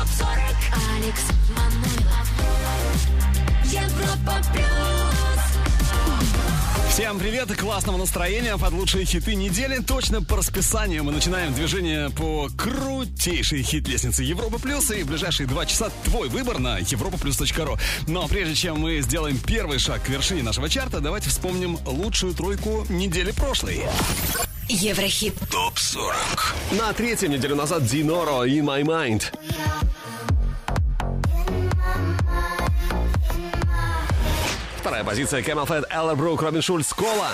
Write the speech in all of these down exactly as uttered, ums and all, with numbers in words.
топ сорок. Алекс Манойлов. Европа плюс. Всем привет и классного настроения под лучшие хиты недели. Точно по расписанию мы начинаем движение по крутейшей хит-лестнице Европа Плюс. И в ближайшие два часа твой выбор на европа плюс точка ру. Но прежде чем мы сделаем первый шаг к вершине нашего чарта, давайте вспомним лучшую тройку недели прошлой. Еврохит топ сорок. На третьем неделю назад Диноро «In My Mind». Вторая позиция Camel Fat, Элла Брук, Робин Шульц, Кола.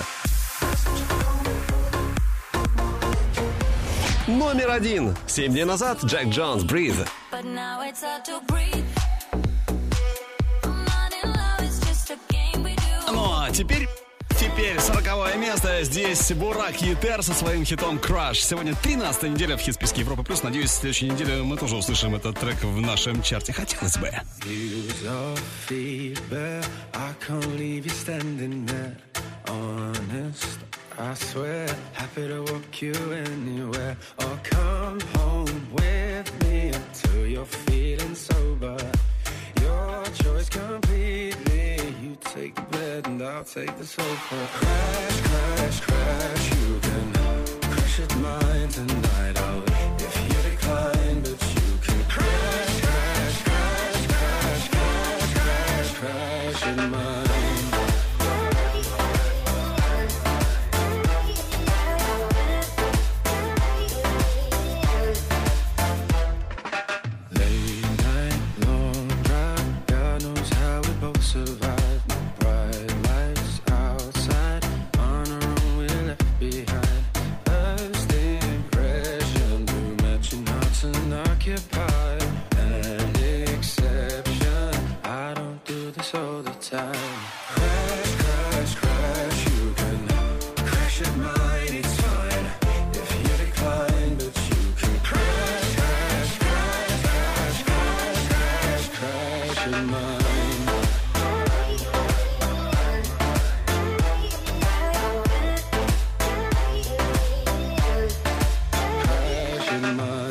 Номер один. Семь дней назад Джек Джонс, Breathe. Ну а теперь... Теперь сороковое место. Здесь Бурак Етер со своим хитом Crush. Сегодня тринадцатая неделя в хит-списке Европа Плюс. Надеюсь, в следующей неделе мы тоже услышим этот трек в нашем чарте. Хотелось бы. Take the bed and I'll take the sofa. Crash, crash, crash. You can crash at mine tonight. I'll if you decline, but you can crash, crash, crash, crash, crash, crash, crash at mine. Late night, long drive. God knows how we both survive. All the time. Crash, crash, crash. You can crash at mine, it's fine. If you decline, but you can crash, crash, crash, crash, crash, crash, crash at mine. Crash at mine.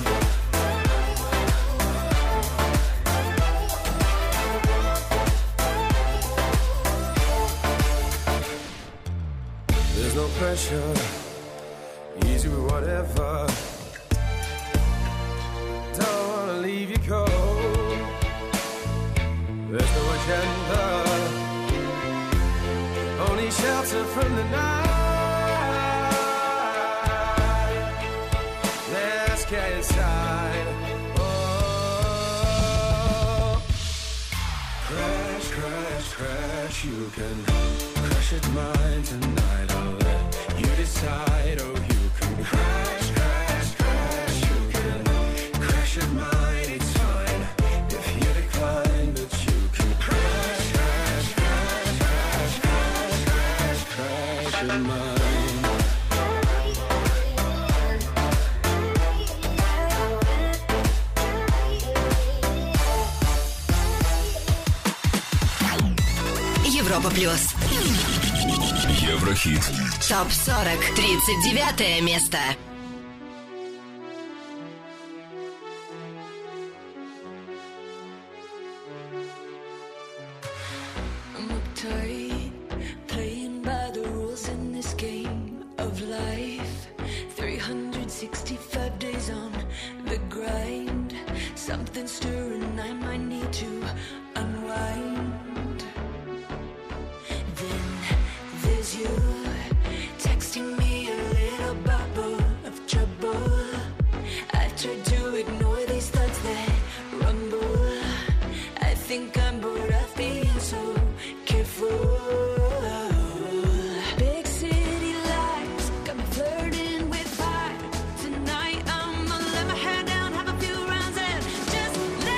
No pressure, easy with whatever. Don't wanna leave you cold. There's no agenda, only shelter from the night. Let's get inside. Oh, crash, crash, crash. You can crash at mine tonight. I'll let you decide. Oh, you can crash, crash, crash. You can crash at mine. It's fine if you decline, but you can crash, crash, crash, crash, crash, crash, crash at mine. Европа Плюс. Еврохит. топ сорок. тридцать девятое место. Tonight I'm gonna let my hair down, have a few rounds and just let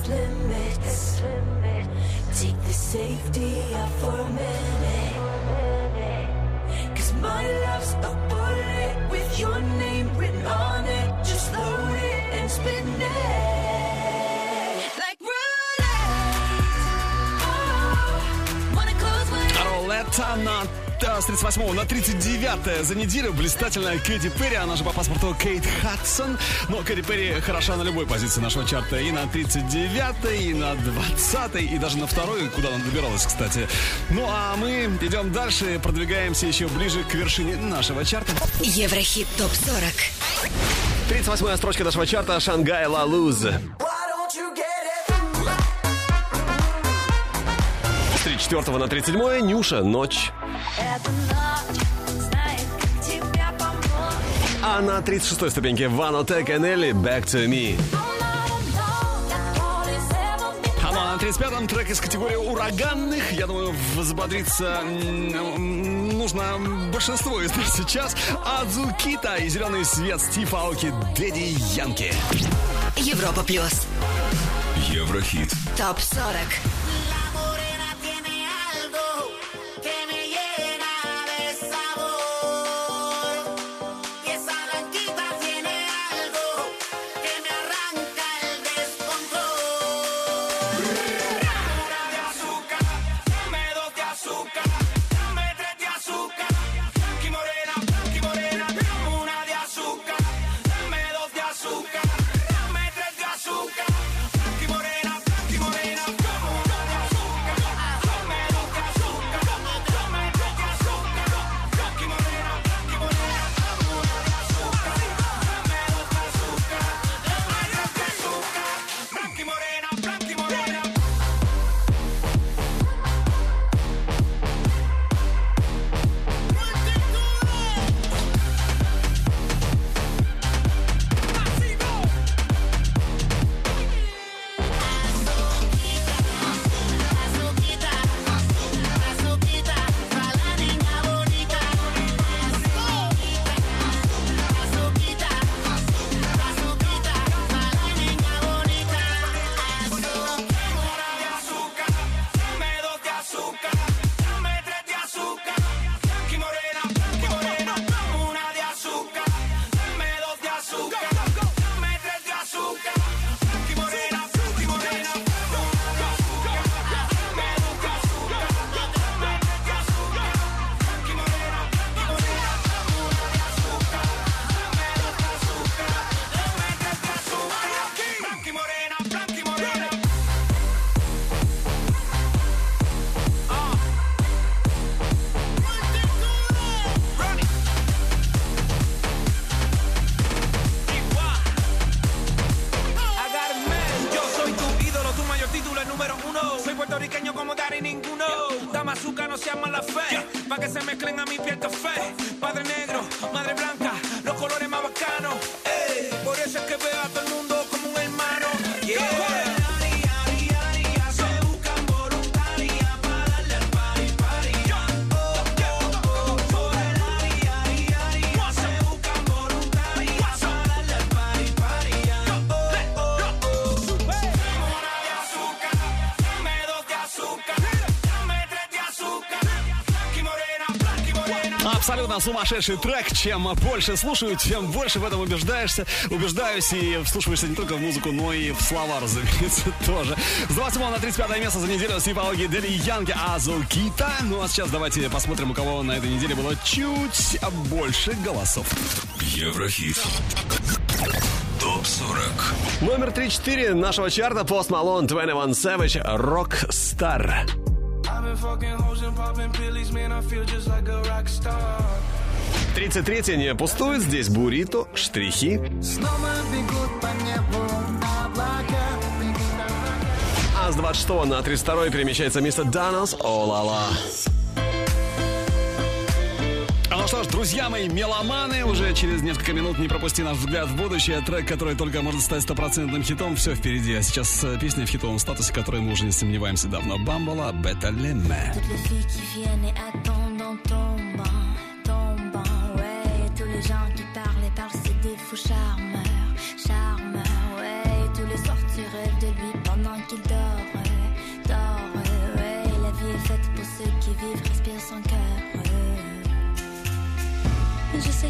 love's limits. Take the safety out for a minute. Cause my love's a bullet with your name written on it. Just load it and spin it like roulette. Oh, wanna close my eyes. Ролетта на с тридцать восьмого на тридцать девятое за неделю. Блистательная Кэти Перри, она же по паспорту Кейт Хадсон. Но Кэти Перри хороша на любой позиции нашего чарта. И на тридцать девятой, и на двадцатой, и даже на второй, куда она добиралась, кстати. Ну а мы идем дальше, продвигаемся еще ближе к вершине нашего чарта. Еврохит топ сорок. тридцать восьмая строчка нашего чарта. Шангай Ла Луз. С тридцать четвёртого на тридцать седьмое. Нюша «Ночь». Эта ночь знает, как тебя помочь. А на тридцать шестой ступеньке Ванотек и Нелли «Back to Me». А ну, а на тридцать пятом трек из категории ураганных. Я думаю, взбодриться м, нужно большинство из нас сейчас. Адзукита и «Зеленый свет» Стив Аоки, Дэдди Янки. Европа плюс. Еврохит. топ сорок. Абсолютно сумасшедший трек. Чем больше слушаю, тем больше в этом убеждаешься. Убеждаюсь и вслушиваешься не только в музыку, но и в слова, разумеется, тоже. С двадцать восьмого на тридцать пятое место за неделю Стив Аоки, Дэдди Янки, Адзукита. Ну а сейчас давайте посмотрим, у кого на этой неделе было чуть больше голосов. Еврохит. топ сорок. Номер тридцать четыре нашего чарта. Post Malone, двадцать один Savage, Rockstar. тридцать третье не пустует. Здесь Бурито, Штрихи. А с двадцать шестого на тридцать второе перемещается мистер Данос, О-ла-ла. Ну что ж, друзья мои, меломаны, уже через несколько минут не пропусти наш взгляд в будущее. Трек, который только может стать стопроцентным хитом, все впереди. А сейчас песня в хитовом статусе, которой мы уже не сомневаемся давно. Бамбола, Беталеме. Charmeur, charmeur, ouais, tous les soirs tu rêves de lui pendant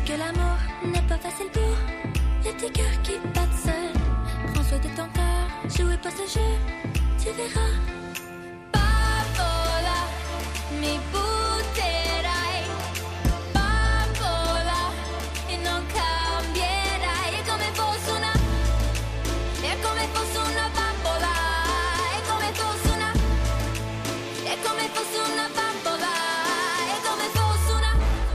que l'amour n'est pas facile pour les petits cœurs qui battent seuls. Prends soin de ton cœur, jouez pas ce jeu, tu verras. Papola, mi butterai. Papola, e non cambierai. È come fosse una, è come fosse una bambola. È come fosse una, è come fosse una bambola. È come fosse una.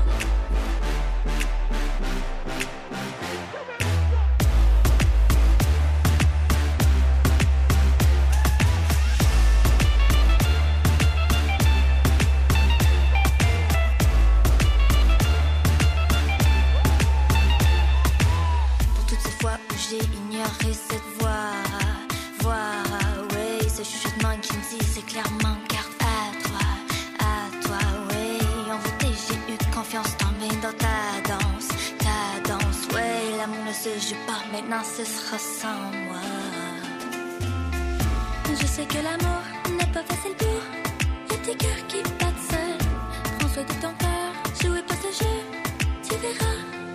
J'ai ignoré cette voix, voix, oui, ce chuchotement qui me dit c'est clairement garde à toi, à toi, oui. En vérité, j'ai eu confiance dans mes dans ta danse, ta danse, oui. L'amour ne se joue pas, maintenant ce sera sans moi. Je sais que l'amour n'est pas facile pour les petits cœurs qui battent seuls. Prends soin de ton cœur, jouez pas ce jeu, tu verras.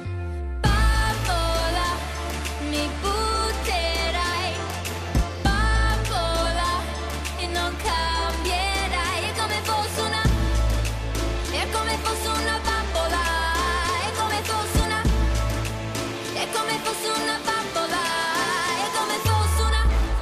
Mi butterai, bambola, e non cambierai. È come fosse una, è come fosse una bambola. È come fosse una, è come fosse una bambola. È come fosse una.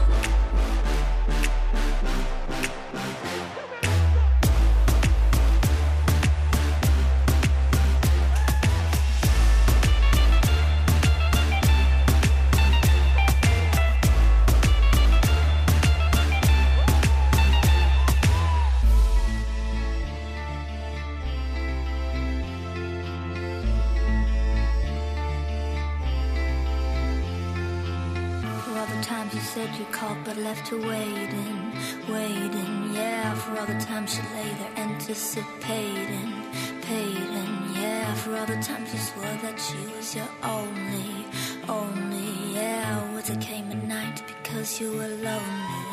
You said you called but left her waiting, waiting, yeah. For all the times she lay there anticipating, paiding, yeah. For all the times you swore that she was your only, only, yeah. Words that came at night because you were lonely.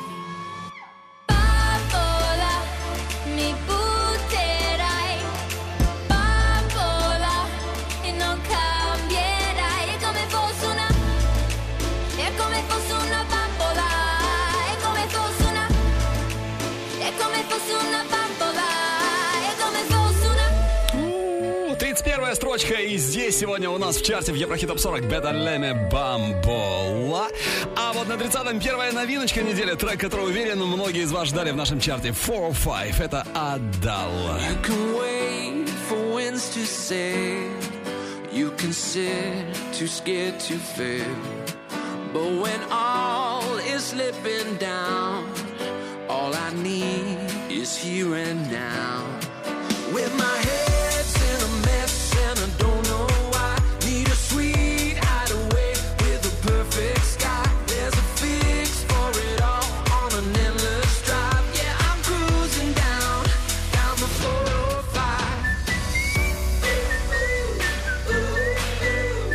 Bambola, mi butterai, bambola, e non cambierai. È come fosse una, è come fosse una bambola, è come fosse una, è come fosse una bambola, è come fosse una. тридцать первая строчка, и здесь сегодня у нас в чарте в Еврохит Топ сорок Better Lemmy Bambola. А вот на тридцатом первая новиночка недели, трек, который, уверен, многие из вас ждали в нашем чарте. four oh five, это Adele. You can wait for winds to sail. You can sit too scared to fail. But when all is slipping down, all I need is here and now. With my head's in a mess and I don't know why. Need a sweet hideaway with a perfect sky. There's a fix for it all on an endless drive. Yeah, I'm cruising down, down the four oh five. Ooh, ooh, ooh.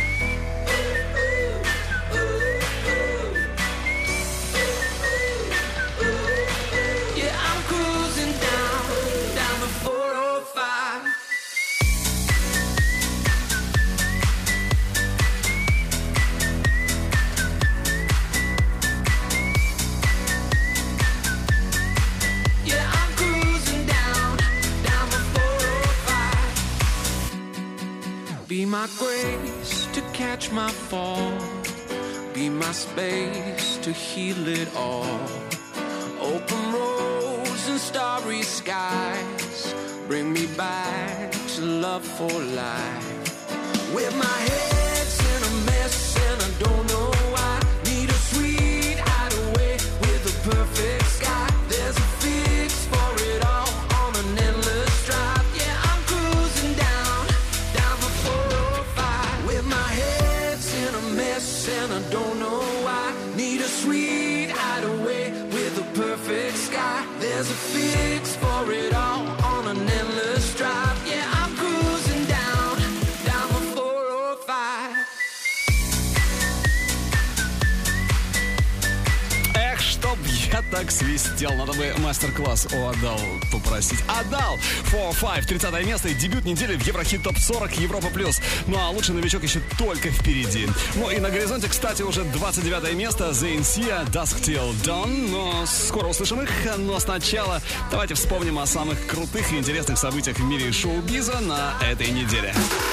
Be my grace to catch my fall. Be my space to heal it all. Open roads and starry skies. Bring me back to love for life. With my head's in a mess and I don't know why. Need a sweet hideaway with a perfect sky. There's a fix for it all on an endless drive. Yeah, I'm cruising down, down the four oh five. With my head's in a mess and I don't know why. Need a sweet hideaway with a perfect sky. There's a fix for it all on an endless drive. Yeah, I'm cruising down, down the four oh five. Эх, чтоб я так свистел. Надо бы мастер-класс у Адал попросить. Адал! фор пять, тридцатое место и дебют недели в Еврохит топ сорок Европа плюс. Ну а лучший новичок еще только впереди. Ну и на горизонте, кстати, уже двадцать девятое место. The Insia, Dusk Till Dawn. Но скоро услышим их. Но сначала давайте вспомним о самых крутых и интересных событиях в мире шоу-биза на этой неделе.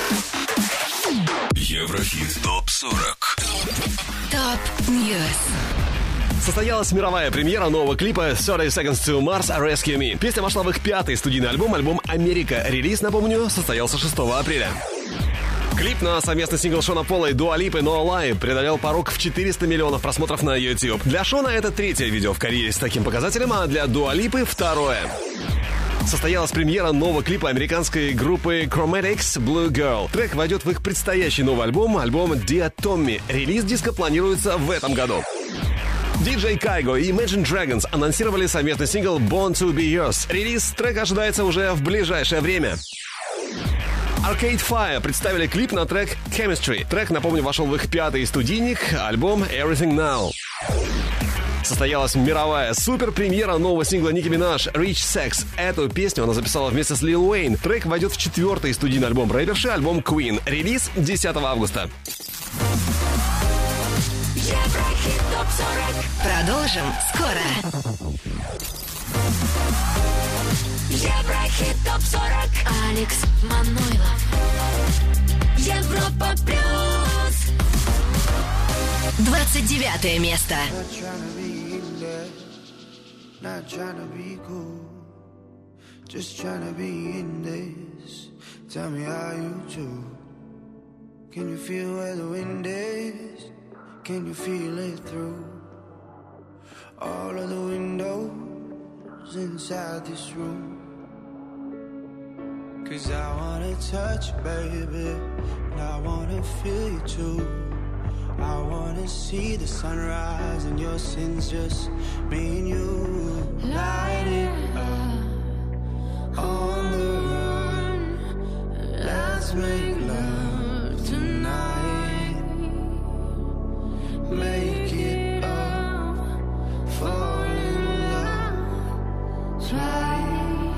Еврохит топ сорок. Топ Ньюс. Состоялась мировая премьера нового клипа тридцать Seconds to Mars Rescue Me. Песня вошла в их пятый студийный альбом, альбом «Америка». Релиз, напомню, состоялся шестого апреля. Клип на совместный сингл Шона Пола и Дуа Липы «No Lie» преодолел порог в четыреста миллионов просмотров на YouTube. Для Шона это третье видео в карьере с таким показателем, а для Дуа Липы второе. Состоялась премьера нового клипа американской группы Chromatics Blue Girl. Трек войдет в их предстоящий новый альбом, альбом Dear Tommy. Релиз диска планируется в этом году. диджей Кайго и Imagine Dragons анонсировали совместный сингл Born to Be Yours. Релиз трека ожидается уже в ближайшее время. Arcade Fire представили клип на трек Chemistry. Трек, напомню, вошел в их пятый студийник, альбом Everything Now. Состоялась мировая супер-премьера нового сингла Ники Минаж «Rich Sex». Эту песню она записала вместе с Лил Уэйн. Трек войдет в четвертый студийный альбом рэперши, альбом Queen. Релиз десятого августа. Еврохит топ сорок. Продолжим скоро. Еврохит топ сорок. Алекс Манойлов. Европа плюс. двадцать девятое место. Not trying to be cool, just trying to be in this. Tell me how you do. Can you feel where the wind is? Can you feel it through all of the windows inside this room? Cause I wanna touch you, baby, and I wanna feel you too. I wanna see the sunrise and your sins, just me and you. Light it up on the run. Let's make love tonight. Make it up, fall in love twice.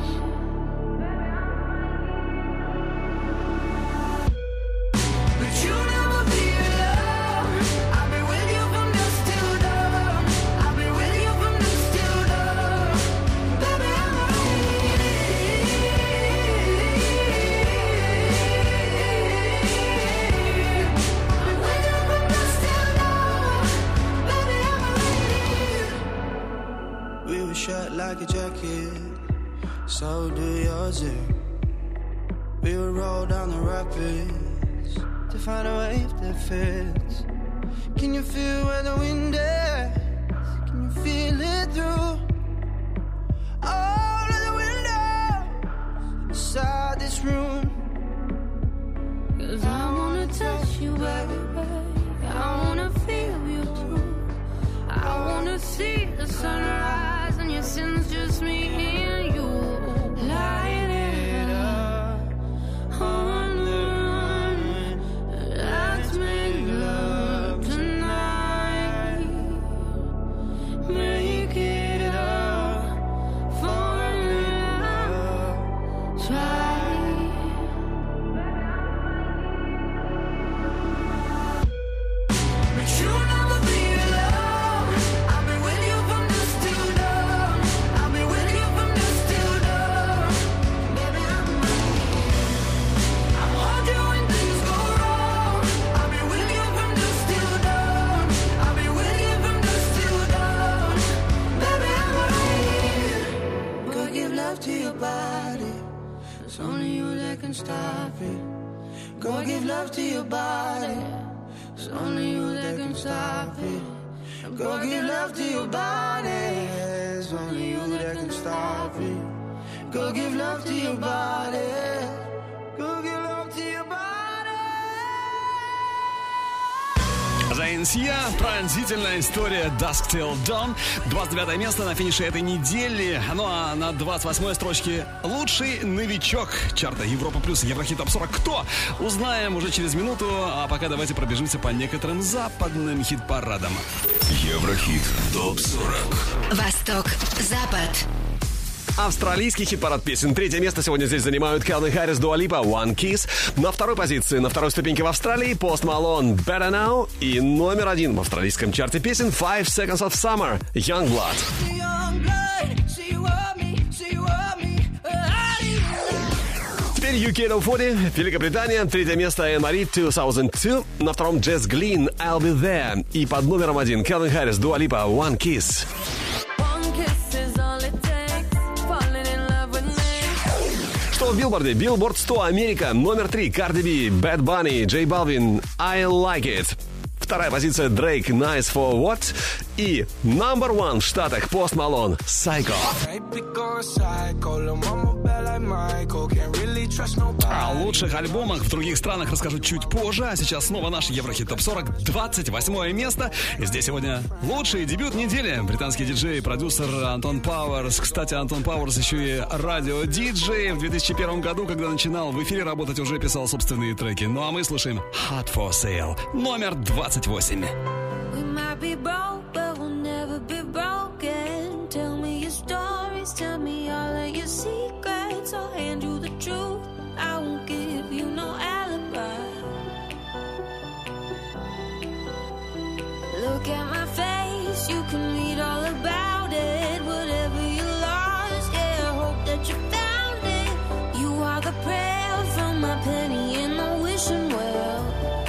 But you never be alone. I've been with you from dusk till dawn. I've been with you from dusk till dawn. Baby, I'm waiting. I'm with you from dusk till dawn. Baby, I'm waiting. We were shut like a jacket, so do yours. eh? We would roll down the rapids to find a wave that fits. Can you feel where the wind is? Can you feel it through all of the windows inside this room? Cause I wanna touch you, baby. I wanna feel you too. I wanna see the sunrise and your sins, just me and you. Light it up on the run. Let's make love tonight. Make it up, fall in love twice. But you never be alone. I've been with you from dusk till dawn. I've been with you from dusk till dawn. Baby, I'm I'm hold you when things go wrong. I've been with you from dusk till dawn. I've been with you from dusk till dawn. Baby, I'm waiting. Go give love to your body. It's only you that can stop it. Go give love to your body. It's only you that can stop it. Go give love to your body. It's only you that can stop it. Go give love to your body. Go give love to your body. The Валенсия. Пронзительная история Dusk Till Dawn. двадцать девятое место на финише этой недели. Ну а на двадцать восьмой строчке лучший новичок чарта Европа Плюс Еврохит Топ сорок. Кто? Узнаем уже через минуту. А пока давайте пробежимся по некоторым западным хит-парадам. Еврохит Топ сорок. Восток, Запад. Австралийский хит-парад песен. Третье место сегодня здесь занимают Кэлвин Харрис, Дуа Липа, One Kiss. На второй позиции, на второй ступеньке в Австралии Пост Малон, Better Now. И номер один в австралийском чарте песен Five Seconds of Summer, Youngblood. Теперь ю кей Топ сорок, Великобритания, третье место Энн Мари, две тысячи два. На втором Джесс Глин, I'll Be There. И под номером один Кэлвин Харрис, Дуа Липа, One Kiss. Что в билборде? Билборд сто, Америка. Номер три. Cardi B, Bad Bunny, J Balvin, I Like It. Вторая позиция Drake, Nice For What. И номер один в Штатах Пост Малон, Psycho. О лучших альбомах в других странах расскажу чуть позже. А сейчас снова наш Еврохит Топ сорок, двадцать восьмое место. И здесь сегодня лучший дебют недели. Британский диджей и продюсер Антон Пауэрс. Кстати, Антон Пауэрс еще и радио-диджей. В две тысячи первом году, когда начинал в эфире работать, уже писал собственные треки. Ну а мы слушаем Hot For Sale, номер двадцать восемь. We might be broke, but we'll never be broken. Tell me your stories, tell me all of your secrets. I'll hand you the truth, I won't give you no alibi. Look at my face, you can read all about it. Whatever you lost, yeah, I hope that you found it. You are the prayer from my penny in the wishing well.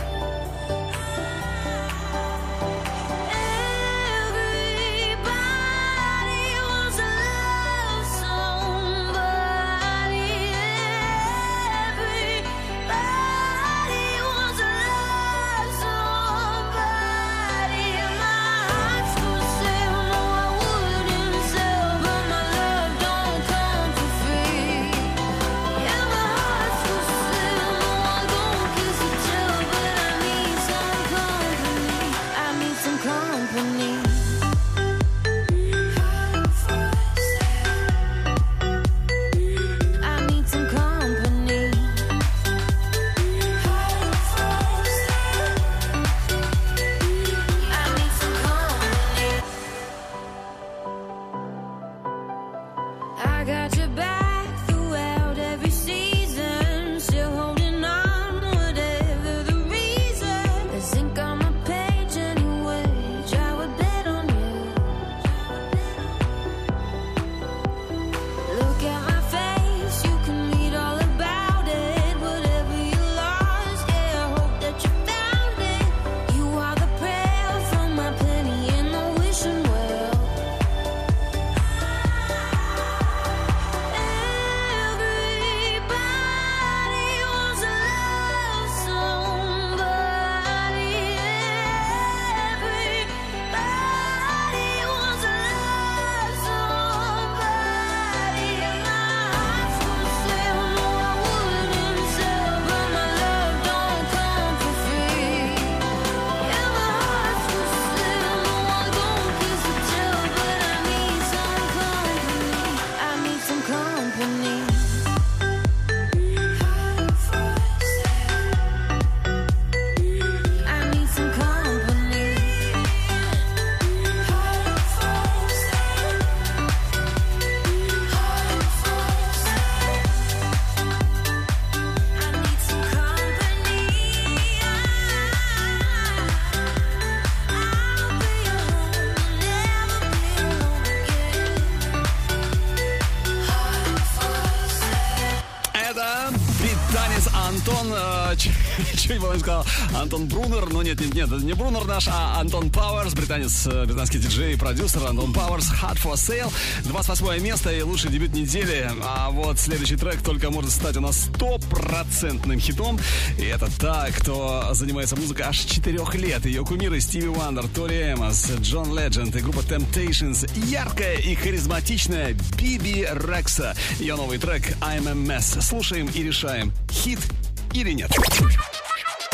Антон, э, чуть было не сказал, Антон Брунер, но нет, нет, нет, это не Брунер наш, а Антон Пауэрс, британец, британский диджей и продюсер Антон Пауэрс, Hot For Sale, двадцать восьмое место и лучший дебют недели, а вот следующий трек только может стать у нас стопроцентным хитом, и это та, кто занимается музыкой аж четырех лет, ее кумиры Стиви Уандер, Тори Эмос, Джон Ледженд и группа Temptations, яркая и харизматичная Биби Рекса, ее новый трек I'm a Mess, слушаем и решаем, хит или нет.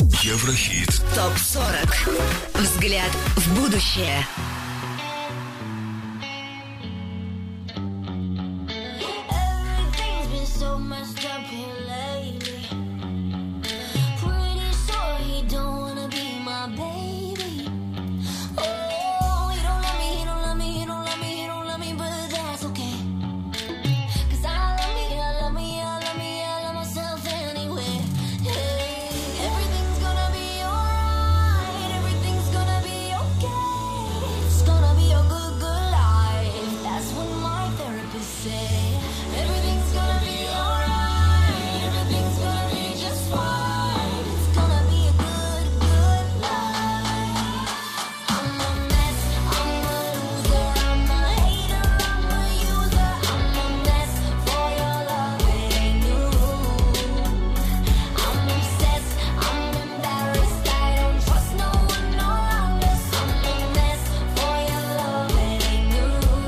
Еврохит. ТОП сорок. Взгляд в будущее. Everything's been so messed up here lately. Pretty sure he don't wanna be my baby. Oh, he don't love me, he don't love me, he don't love me, he don't love me, but that's okay. 'Cause I love me, I love me, I love me, I love myself anyway. Hey, everything's gonna be alright, everything's gonna be okay. It's gonna be a good, good life. That's what my therapist say. Everything's gonna be alright, everything's gonna be just fine. It's gonna be a good, good life. I'm a mess, I'm a loser, I'm a hater, I'm a user. I'm a mess for your love, it ain't new. I'm obsessed, I'm embarrassed, I don't trust no one around us. I'm a mess for your love, it ain't new.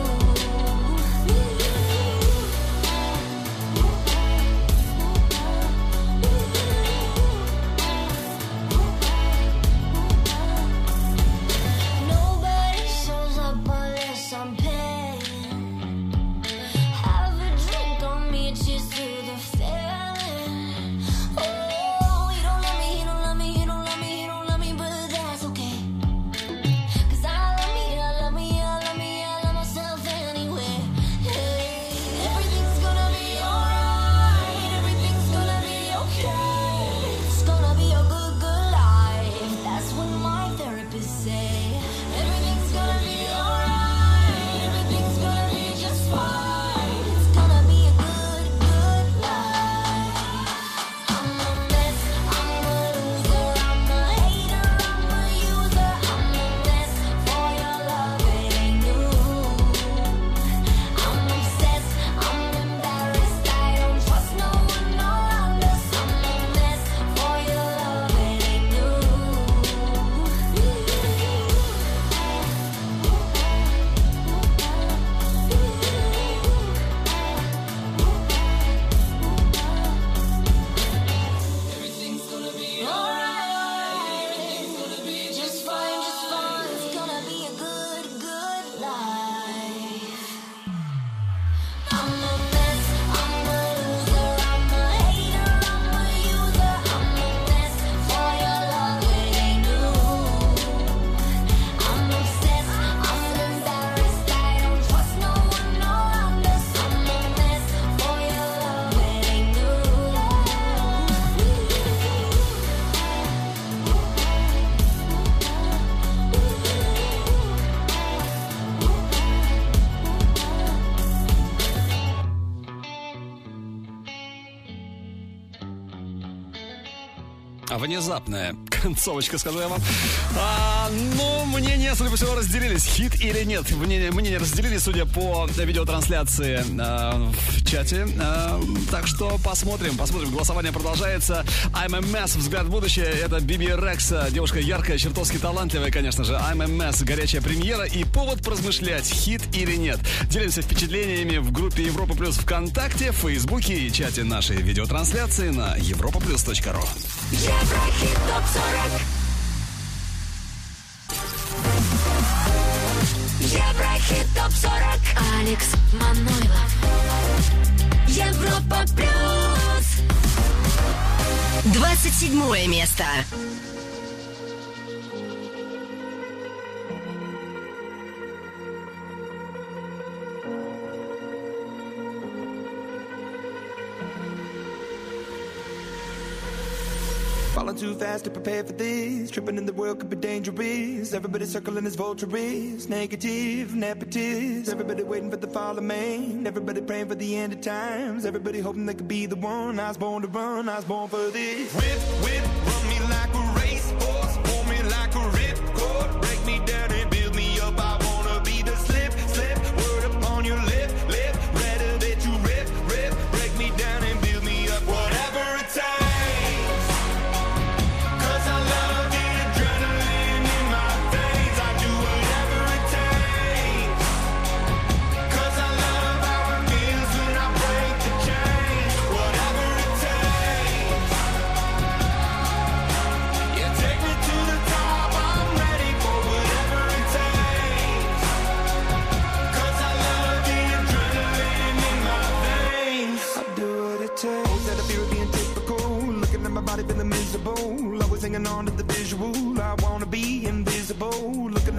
Nobody shows up unless I'm paying. Have a drink on me, cheers to the feeling. Oh, he don't love me, he don't love me, he don't love me, he don't love me, but that's okay. 'Cause I love me, I love me, I love me, I love myself anyway. Hey, everything's gonna be alright, everything's gonna be okay. It's gonna be a good, good life. That's what my therapist say. Everything's gonna be alright, everything's gonna be just fine. It's gonna be a good, good life. I'm a mess, I'm a loser, I'm a hater, I'm a user. I'm a mess for your love, it ain't new. I'm obsessed, I'm embarrassed, I don't trust no one around us. I'm a mess for your love, it ain't new. Everything's gonna be alright. It's gonna be just fine, just fine. It's gonna be a good, good life. I'm a mess, I'm a loser, I'm a hater, I'm a user. I'm a mess for your love, it ain't new. I'm obsessed, I'm embarrassed, I don't trust no one around us. I'm a mess for your love, it ain't new. Внезапная концовочка, скажу я вам. А, ну, мнения, судя по всему, разделились. Хит или нет? Мнения, мнения разделились, судя по видеотрансляции а, в чате. А, так что посмотрим, посмотрим. Голосование продолжается. I'm a mess, взгляд в будущее. Это Биби Рекса. Девушка яркая, чертовски талантливая, конечно же. I'm a mess, горячая премьера и повод поразмышлять, хит или нет. Делимся впечатлениями в группе Европа Плюс ВКонтакте, в Фейсбуке и чате нашей видеотрансляции на европа плюс точка ру. Еврохит топ сорок. Еврохит топ сорок. Алекс Манойлов. Европа плюс. двадцать седьмое место. Falling too fast to prepare for this. Tripping in the world could be dangerous. Everybody circling as vultures. Negative, nepotist. Everybody waiting for the fall of man. Everybody praying for the end of times. Everybody hoping they could be the one. I was born to run, I was born for this. Whip, whip, run me like a racehorse. Pull me like a ripcord. Break me down and build me up. I wanna be the slip, slip. Word upon your lip, lip. Rather that you rip, rip. Break me down and build me up. Whatever it takes.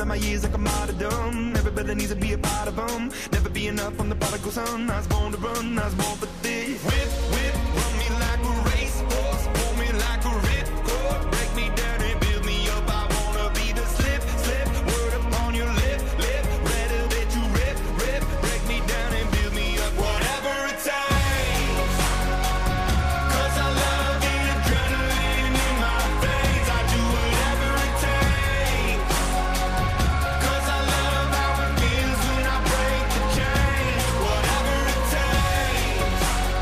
of my years like a martyrdom. Everybody needs to be a part of them. Never be enough on the prodigal son. I was born to run, I was born for this. Whip, whip, run me like a racehorse. Pull me like a ripcord. Break me down and build me up. I wanna be the slip, slip. Word upon your lip, lip. Rather that you rip, rip. Break me down and build me up. Whatever it takes. Cause I love the adrenaline in my veins. I do whatever it takes. Cause I love how it feels when I break the chains. Whatever it takes.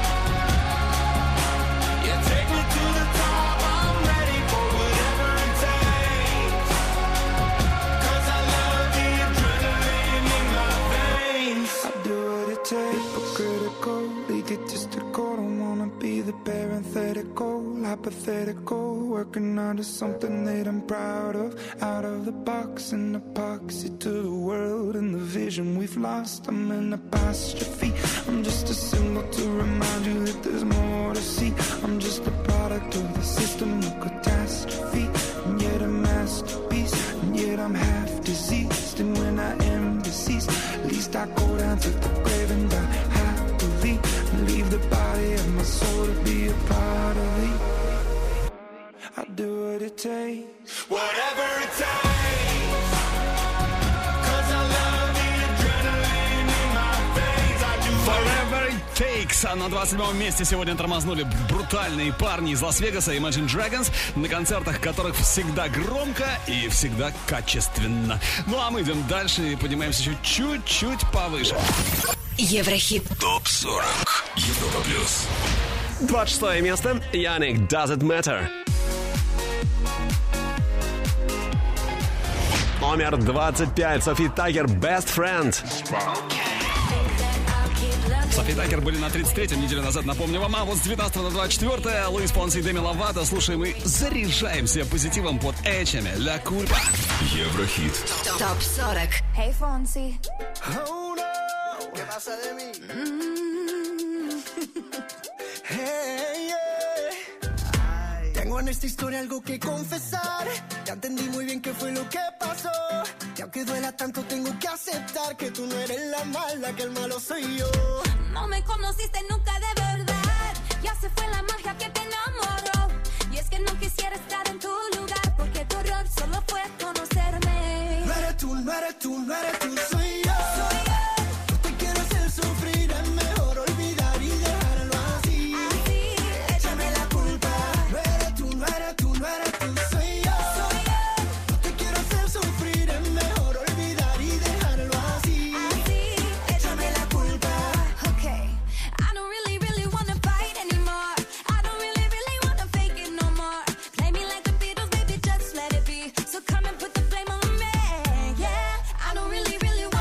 Yeah, take me to the top. I'm ready for whatever it takes. Cause I love the adrenaline in my veins. I do what it takes, but critical, egotistical. Don't wanna be the parenthetical, hypothetical. Working onto something that I'm proud of. Out of the box, an epoxy to the world and the vision we've lost. I'm an apostrophe. I'm just a symbol to remind you that there's more to see. I'm just a product of the system of catastrophe, and yet a masterpiece, and yet I'm half diseased. And when I am deceased, at least I go down to the grave and die happily, and leave the body of my soul to be a part of it. I do what it takes, whatever it takes. Cause I love the adrenaline in my veins. I do Forever It Takes. А на двадцать седьмом месте сегодня тормознули брутальные парни из Лас-Вегаса, Imagine Dragons, на концертах которых всегда громко и всегда качественно. Ну а мы идем дальше и поднимаемся еще чуть-чуть повыше. Еврохит. ТОП сорок. Европа плюс. двадцать шестое место. Яник Does It Matter. Номер двадцать пять. Софи Такер Best Friend. Софи Такер были на тридцать третьем неделю назад, напомню вам. А вот с девятнадцатого на двадцать четвёртое Луис Понси и Деми Ловато слушаем и заряжаемся позитивом под Эчами. Ля Кульпа. Еврохит. ТОП сорок. Hey, Fonsi. Oh no, ¿qué pasa de mí? Hey, yeah. Tengo en esta historia algo que confesar. Ya entendí muy bien qué fue lo que pasó. Y aunque duela tanto, tengo que aceptar que tú no eres la mala, que el malo soy yo. No me conociste nunca de verdad. Ya se fue la magia que te enamoró. Y es que no quisiera estar en tu lugar, porque tu error solo fue conocerme. No eres tú, no eres tú, no eres tú, soy yo. Soy yo. No te quiero hacer sufrir, es mejor olvidar y dejarlo así. Así, Échame la culpa. No eres tú, no eres tú, no eres tú, soy yo. soy yo. No te quiero hacer sufrir, es mejor olvidar y dejarlo así. Así, Échame la culpa. okay. I don't really, really wanna fight anymore. I don't really, really wanna fake it no more. Play me like the Beatles, baby, just let it be. So come and put the blame on me, yeah. I don't really, really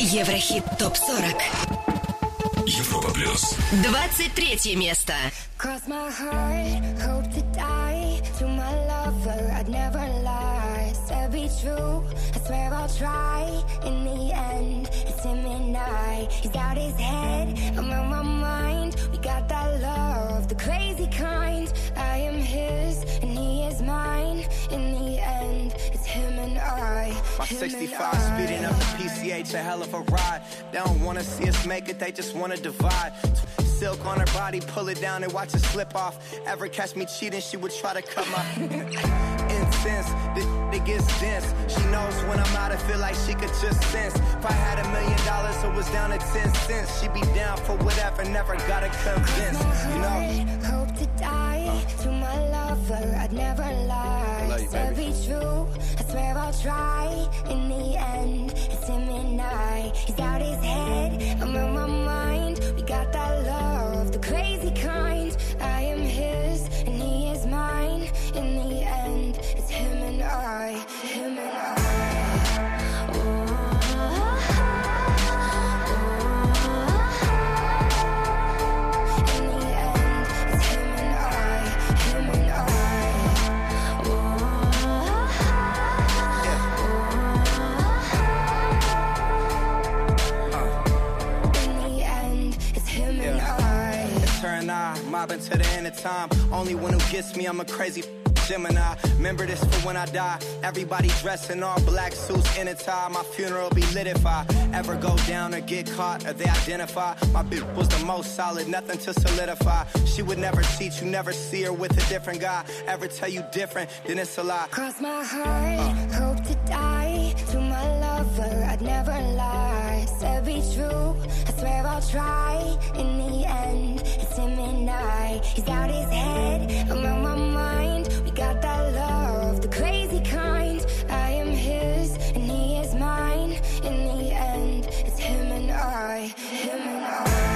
Еврохит топ сорок. Европа плюс. двадцать третье место. Cross my heart, hope to die. To my lover, I'd never lie. Said be true, I swear I'll try. In the end, it's him and I. He's out his head, I'm on my mind. We got that love, the crazy kind. I am his, and he is mine. In the end, it's him and I. My him sixty-five and I. speeding up the P C H, a hell of a ride. They don't wanna see us make it, they just wanna divide. Silk on her body, pull it down and watch it slip off. Ever catch me cheating, she would try to cut my incense. This it gets dense. She knows when I'm out, I feel like she could just sense. If I had a million dollars, it was down to ten cents. She'd be down for whatever, never gotta convince. You know? Hope to die uh. to my lover, I'd never lie. Love you, Said baby. be true, I swear I'll try. In the end, it's him and I. He's out his head, I'm on my mind. We got that love, the crazy kind. I am his, and he is mine. In the end, it's him and I. Him and I. Mobbing to the end of time. Only one who gets me, I'm a crazy Gemini. Remember this for when I die. Everybody dressed in all black suits in a tie. My funeral be lit if I ever go down or get caught or they identify. My bitch was the most solid, nothing to solidify. She would never cheat, you never see her with a different guy. Ever tell you different, then it's a lie. Cross my heart, uh. hope to die. To my lover, I'd never lie. Said be true, I swear I'll try. In the end, it's him and I. He's out his head, I'm on my mind. We got that love, the crazy kind. I am his, and he is mine. In the end, it's him and I. Him and I.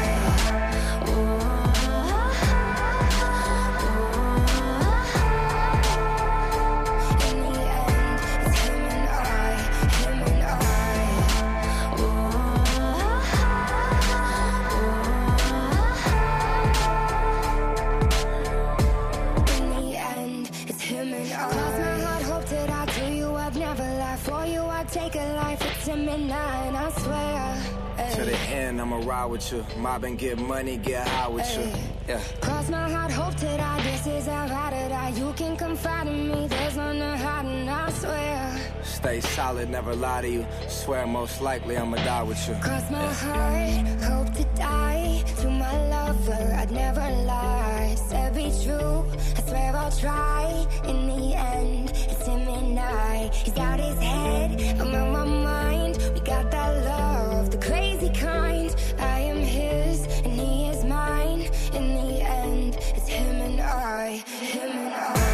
Take a life, it's him and I, and I swear. Ay. To the end, I'ma ride with you. Mob and get money, get high with Ay. you. Yeah. Cross my heart, hope to die. This is how I to die. You can confide in me. There's none to hide, and I swear. Stay solid, never lie to you. Swear most likely I'ma die with you. Cross my yeah. heart, hope to die. To my lover, I'd never lie. Said be true, I swear I'll try. In the end, it's him and I. He's out his head, I'm on my mind. We got that love, the crazy kind. I am his, and he is mine. In the end, it's him and I. Him and I.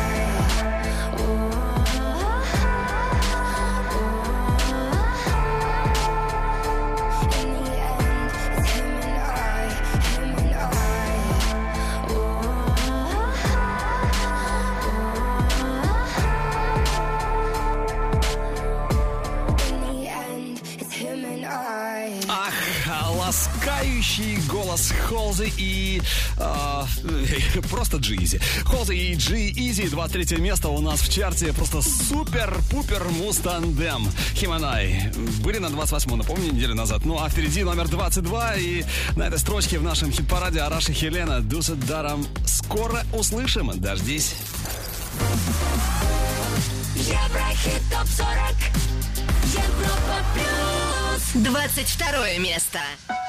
Ласкающий голос Холзи и э, просто G-Eazy. Холзи и G-Eazy, двадцать третье место у нас в чарте. Просто супер-пупер муз-тандем. Him and I были на двадцать восьмом, напомню, неделю назад. Ну а впереди номер двадцать два. И на этой строчке в нашем хит-параде Араш и Хелена Дусет Даром. Скоро услышим. Дождись. Еврохит топ сорок. Европа плюс. двадцать второе место.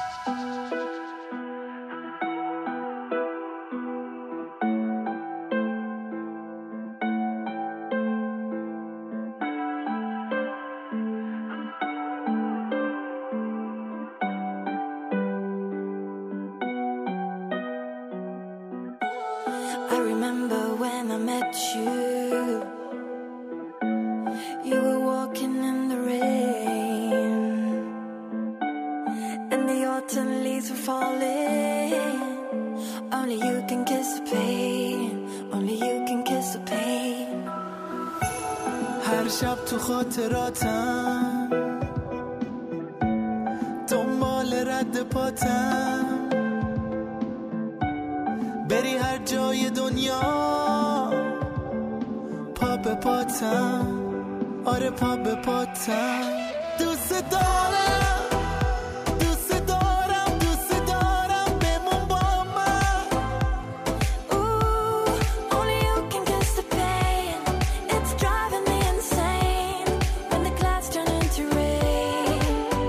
I remember when I met you. You were walking in the rain, and the autumn leaves were falling. Only you can kiss the pain. Only you can kiss the pain. هر شب تو خاطراتم رد پاتم بری هر جای دنیا پا به پاتم آره پا به پاتم دوست دارم دوست دارم دوست دارم بمون با من Ooh, only you can guess the pain. It's driving me insane when the clouds turn into rain.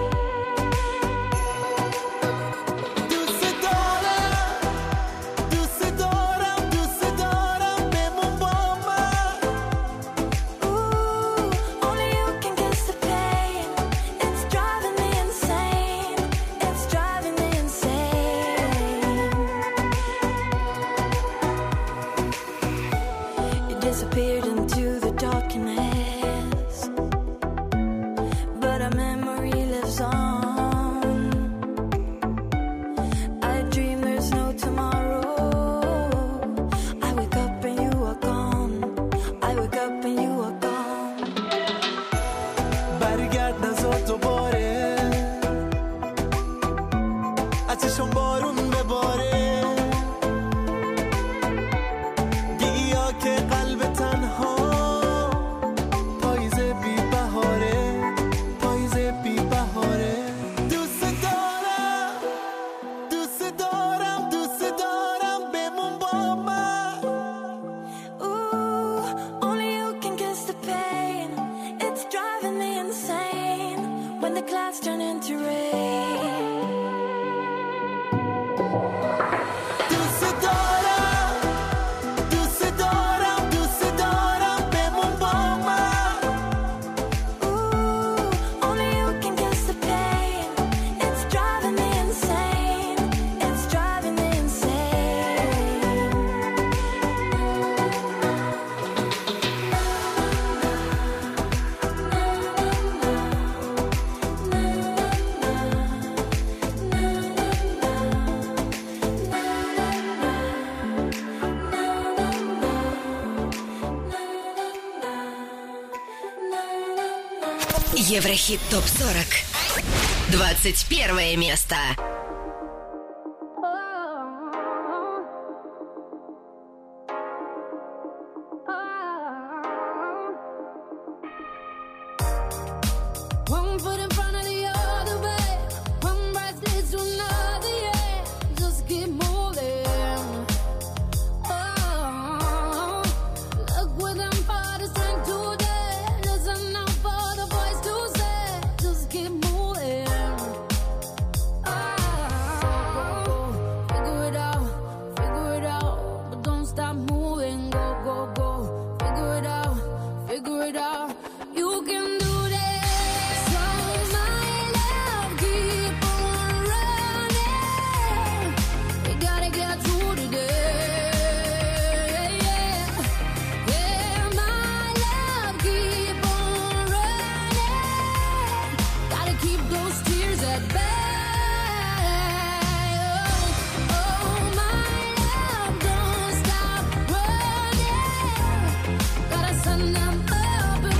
دوست دارم دوست دارم دوست دارم بمون با من Ooh, only you can guess the pain. It's driving me insane. It's driving me insane. You disappeared into the darkness, but our memory lives on. I dream there's no tomorrow. I wake up and you are gone. I wake up and you are gone. برگرد نزار دوباره از چشم بارون بباره بیا که قلب تنها پاییز بی بهاره پاییز بی بهاره دوست دارم دوست دارم دوست دارم بمون با من Ooh, only you can guess the pain. It's driving me insane when the clouds turn into rain. دوست دارم دوست دارم دوست دارم بمون با من Ooh, only you can guess the pain. It's driving me insane. It's driving me insane. Еврохит топ сорок. двадцать первое место. One foot in front of the other, babe. One breath leads to another, yeah. Just keep moving. Oh, look with them for the strength today. Listen out for the voice to say. Just keep moving. Oh, figure it out, figure it out, but don't stop moving. Go, go, go. Figure it out, figure it out. You can do this. So my love, keep on running. You gotta get through today. Yeah, my love, keep on running. Gotta keep those tears at bay. Oh, oh, my love, don't stop running. Gotta send them up and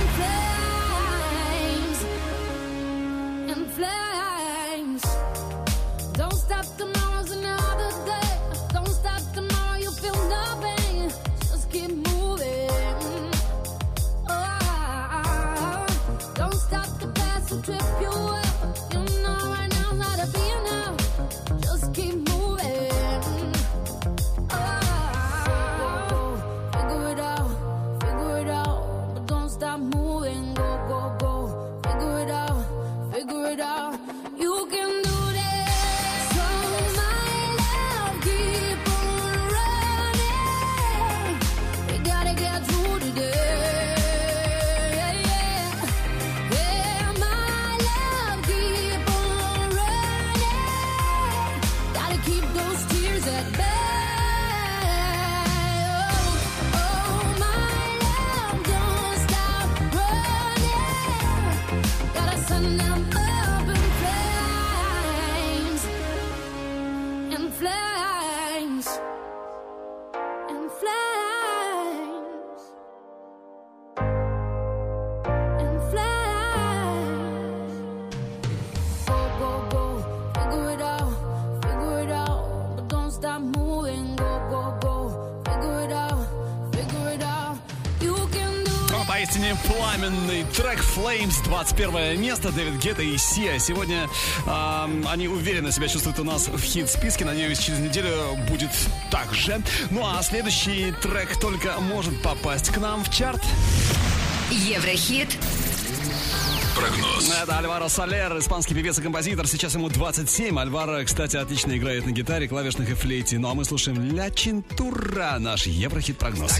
Поистине пламенный трек Flames, двадцать первое место, Дэвид Гетта и Сиа. Сегодня э, они уверенно себя чувствуют у нас в хит-списке. Надеюсь, через неделю будет так же. Ну а следующий трек только может попасть к нам в чарт. Еврохит. Прогноз. Это Альваро Солер, испанский певец и композитор. Сейчас ему двадцать семь. Альваро, кстати, отлично играет на гитаре, клавишных и флейте. Ну а мы слушаем Ля Чинтура, наш Еврохит-прогноз.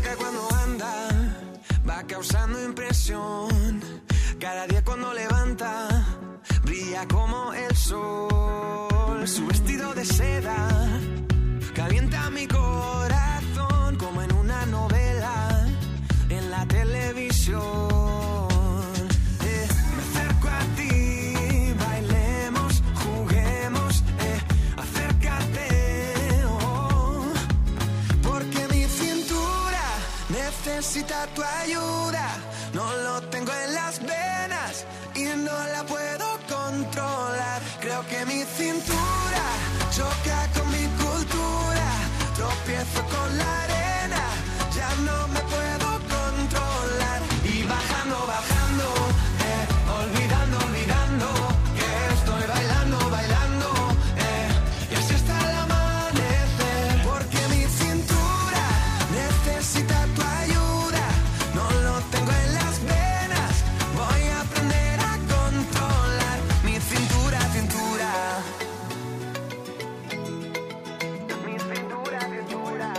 Va causando impresión. Cada día cuando levanta, brilla como el sol. Su vestido de seda calienta mi corazón como en una novela en la televisión. Eh, me acerco a ti, bailemos, juguemos, eh, acércate, oh, porque mi cintura necesita tu ayuda, no lo tengo en las venas y no la puedo controlar. Creo que mi cintura choca con mi cultura, tropiezo con la arena, ya no me puedo controlar. Y bajando, bajando, eh, olvidando, olvidando, que estoy bailando, bailando, eh, y así hasta el amanecer, porque mi cintura necesita tu ayuda, no lo tengo en las venas, voy a aprender a controlar mi cintura, cintura. Mi cintura, cintura.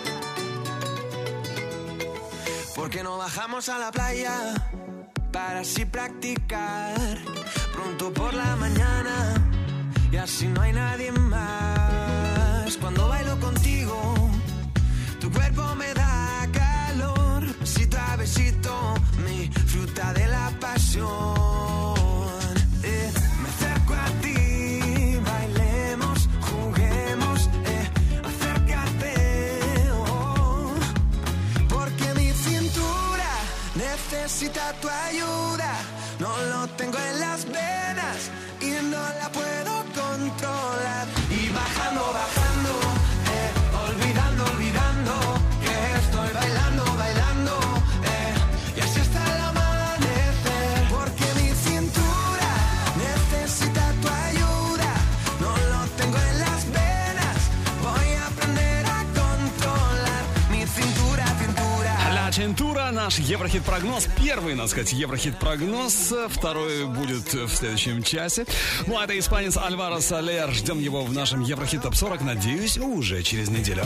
Porque no bajamos a la playa para así practicar pronto por la mañana y así no hay nadie más. Cuando bailo contigo, tu cuerpo me da calor, besito a besito, mi fruta de la pasión. Eh, me acerco a ti, bailemos, juguemos, eh, acércate, oh, porque mi cintura necesita tu ayuda, no lo tengo en las venas y no la puedo controlar. Y bajando, bajando, eh, olvidando, olvidando, que estoy bailando, bailando, eh, y así hasta el amanecer, porque mi cintura necesita tu ayuda, no lo tengo en las venas, voy a aprender a controlar mi cintura, cintura. Ля Чинтура, наш Еврохит-прогноз. Первый, надо сказать, Еврохит-прогноз. Второй будет в следующем часе. Ну, а это испанец Альваро Солер. Ждем его в нашем Еврохит топ сорок. Надеюсь, уже через неделю.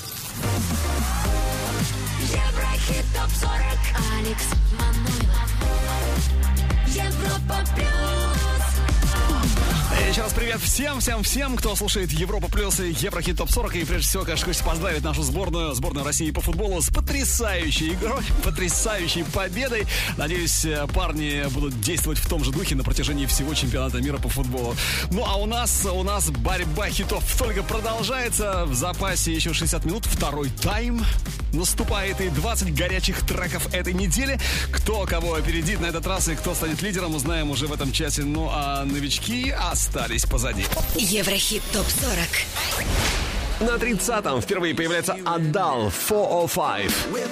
Еврохит топ сорок. Алекс Манойлов. Европа плюс. Еще раз привет всем, всем, всем, кто слушает Европа Плюс и Еврохит топ сорок. И прежде всего, конечно, хочется поздравить нашу сборную, сборную России по футболу с потрясающей игрой, потрясающей победой. Надеюсь, парни будут действовать в том же духе на протяжении всего чемпионата мира по футболу. Ну, а у нас, у нас борьба хитов только продолжается. В запасе еще шестьдесят минут, второй тайм наступает, и двадцать горячих треков этой недели. Кто кого опередит на этот раз и кто станет лидером, узнаем уже в этом часе. Ну, а новички остались позади. Еврохит топ сорок. На тридцатом впервые появляется Адал четыреста пять.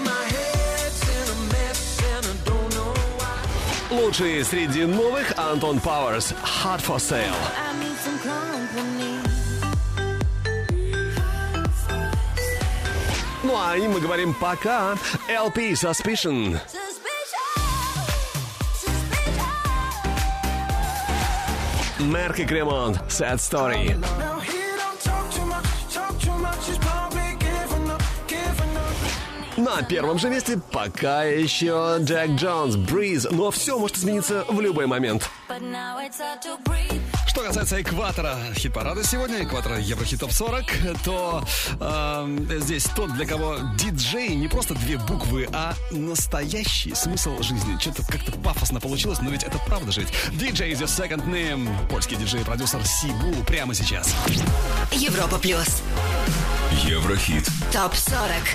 Лучшие среди новых Антон Пауэрс Hot for Sale. Ну а им мы говорим пока. эл пи Suspicion. Мерк и Кремонт Sad Story. На первом же месте пока еще Джек Джонс Breeze, но все может измениться в любой момент. Что касается экватора хит-парада сегодня, экватора Еврохит топ сорок, то э, здесь тот, для кого диджей не просто две буквы, а настоящий смысл жизни. Что-то как-то пафосно получилось, но ведь это правда жить. ди джей is your second name. Польский диджей и продюсер Сибу прямо сейчас. Европа Плюс. Еврохит. топ сорок.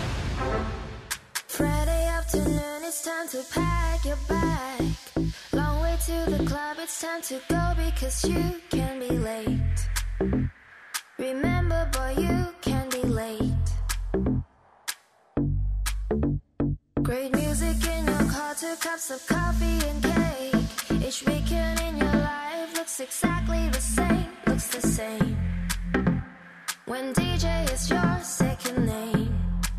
Friday afternoon, it's time to pack your bag. Long way to the club, it's time to go because you can be late. Remember, boy, you can be late. Great music in your car, two cups of coffee and cake. Each weekend in your life looks exactly the same, looks the same. When D J is your second name.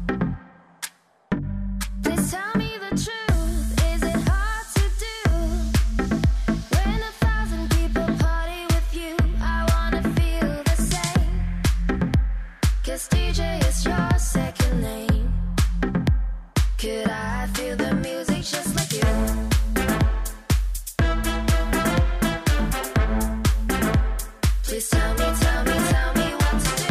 Please tell me the truth, is it hard to do? When a thousand people party with you, I wanna feel the same. 'Cause D J is your second name. Could I feel the music just like you? Please tell me, tell me, tell me what to do.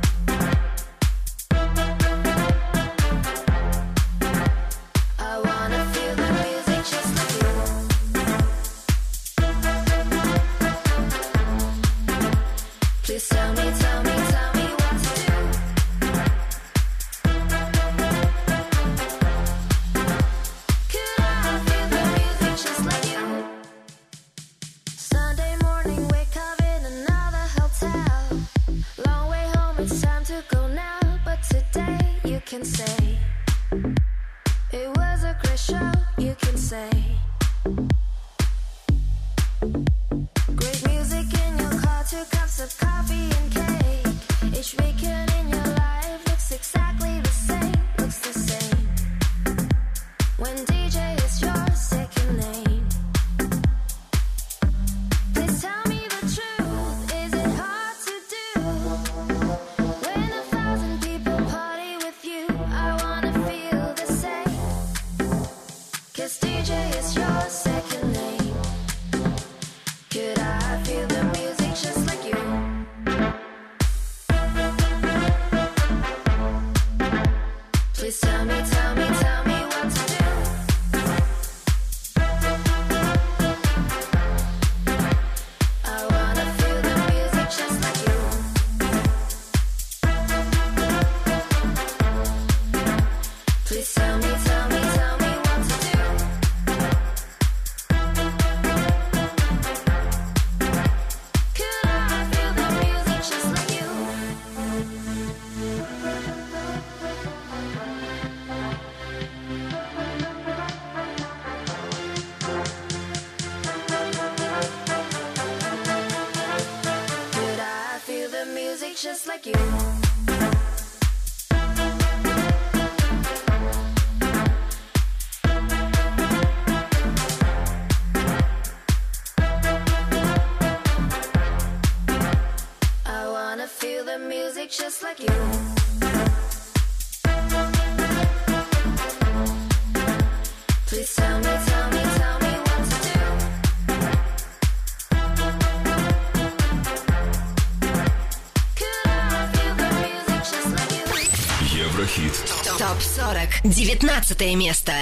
I wanna feel the music just like you. Please tell me, tell me, tell me what to do. Could I feel the music just like you? Sunday morning, wake up in another hotel. Long way home, it's time to go now. But today you can say it was a great show, you can say. Great music in your car, two cups of coffee and cake. Each weekend in your life looks exactly the same, looks the same. When D J is your second name. Please tell me the truth, is it hard to do? When a thousand people party with you, I wanna feel the same. 'Cause D J is your second name. Could I feel the music just like you? Please tell me, tell me, tell me what to do. I wanna feel the music just like you. Please tell me, tell me, tell me what to do. Could I feel the music just like you? Could I feel the music just like you? I wanna feel the music just like you. Please tell me, tell me, tell me what to do. Could I feel the music just like you? Еврохит. ТОП сорок. девятнадцатое место.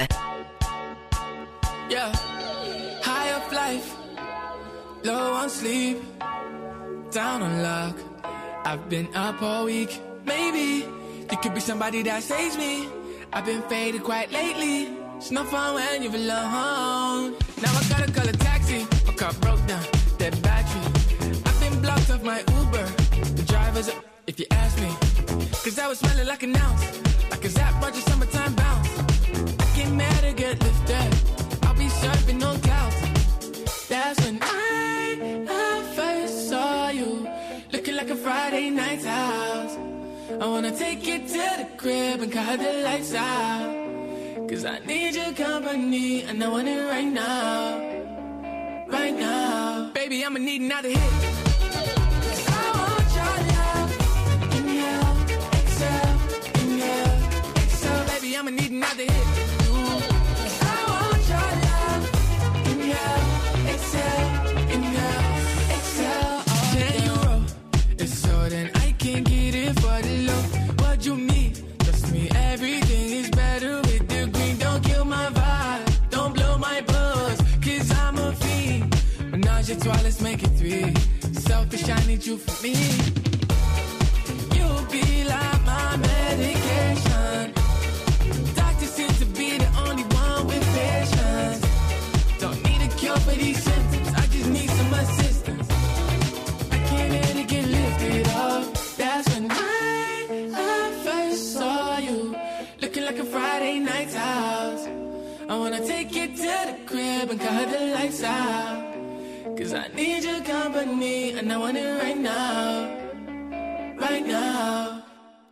Yeah, high up life, low on sleep, down on luck. I've been up all week. Maybe you could be somebody that saves me. I've been faded quite lately. It's no fun when you're alone. Now I gotta call a taxi. My car broke down, dead battery. I've been blocked off my Uber. The driver's up, if you ask me. Cause I was smelling like an ounce, like a Zap Roger summertime bounce. I get mad or get lifted. I'll be surfing on clouds. That's when I, I first saw you, looking like a Friday night's house. I wanna take you to the crib and cut the lights out. Cause I need your company and I want it right now. Right now. Baby, I'ma need another hit. Cause I want your love. Inhale, exhale, inhale, exhale. Baby, I'ma need another hit. Cause I want your love. Inhale, exhale, inhale, exhale. Oh, ten euro. It's so then I can get it for the low. What you need? Trust me, everything is better with the green. Don't kill my vibe. Don't blow my buzz. Cause I'm a fiend. Menage a trois, let's make it three. Selfish, I need you for me. You'll be like my medication. Doctor seems to be the only one with patience. Don't need a cure for these symptoms. I just need some assistance. I can't let it get lifted up. That's when I, I first saw you, looking like a Friday night's house. I wanna take you to the crib and cut the lights out. Cause I need your company and I want it right now. Right now.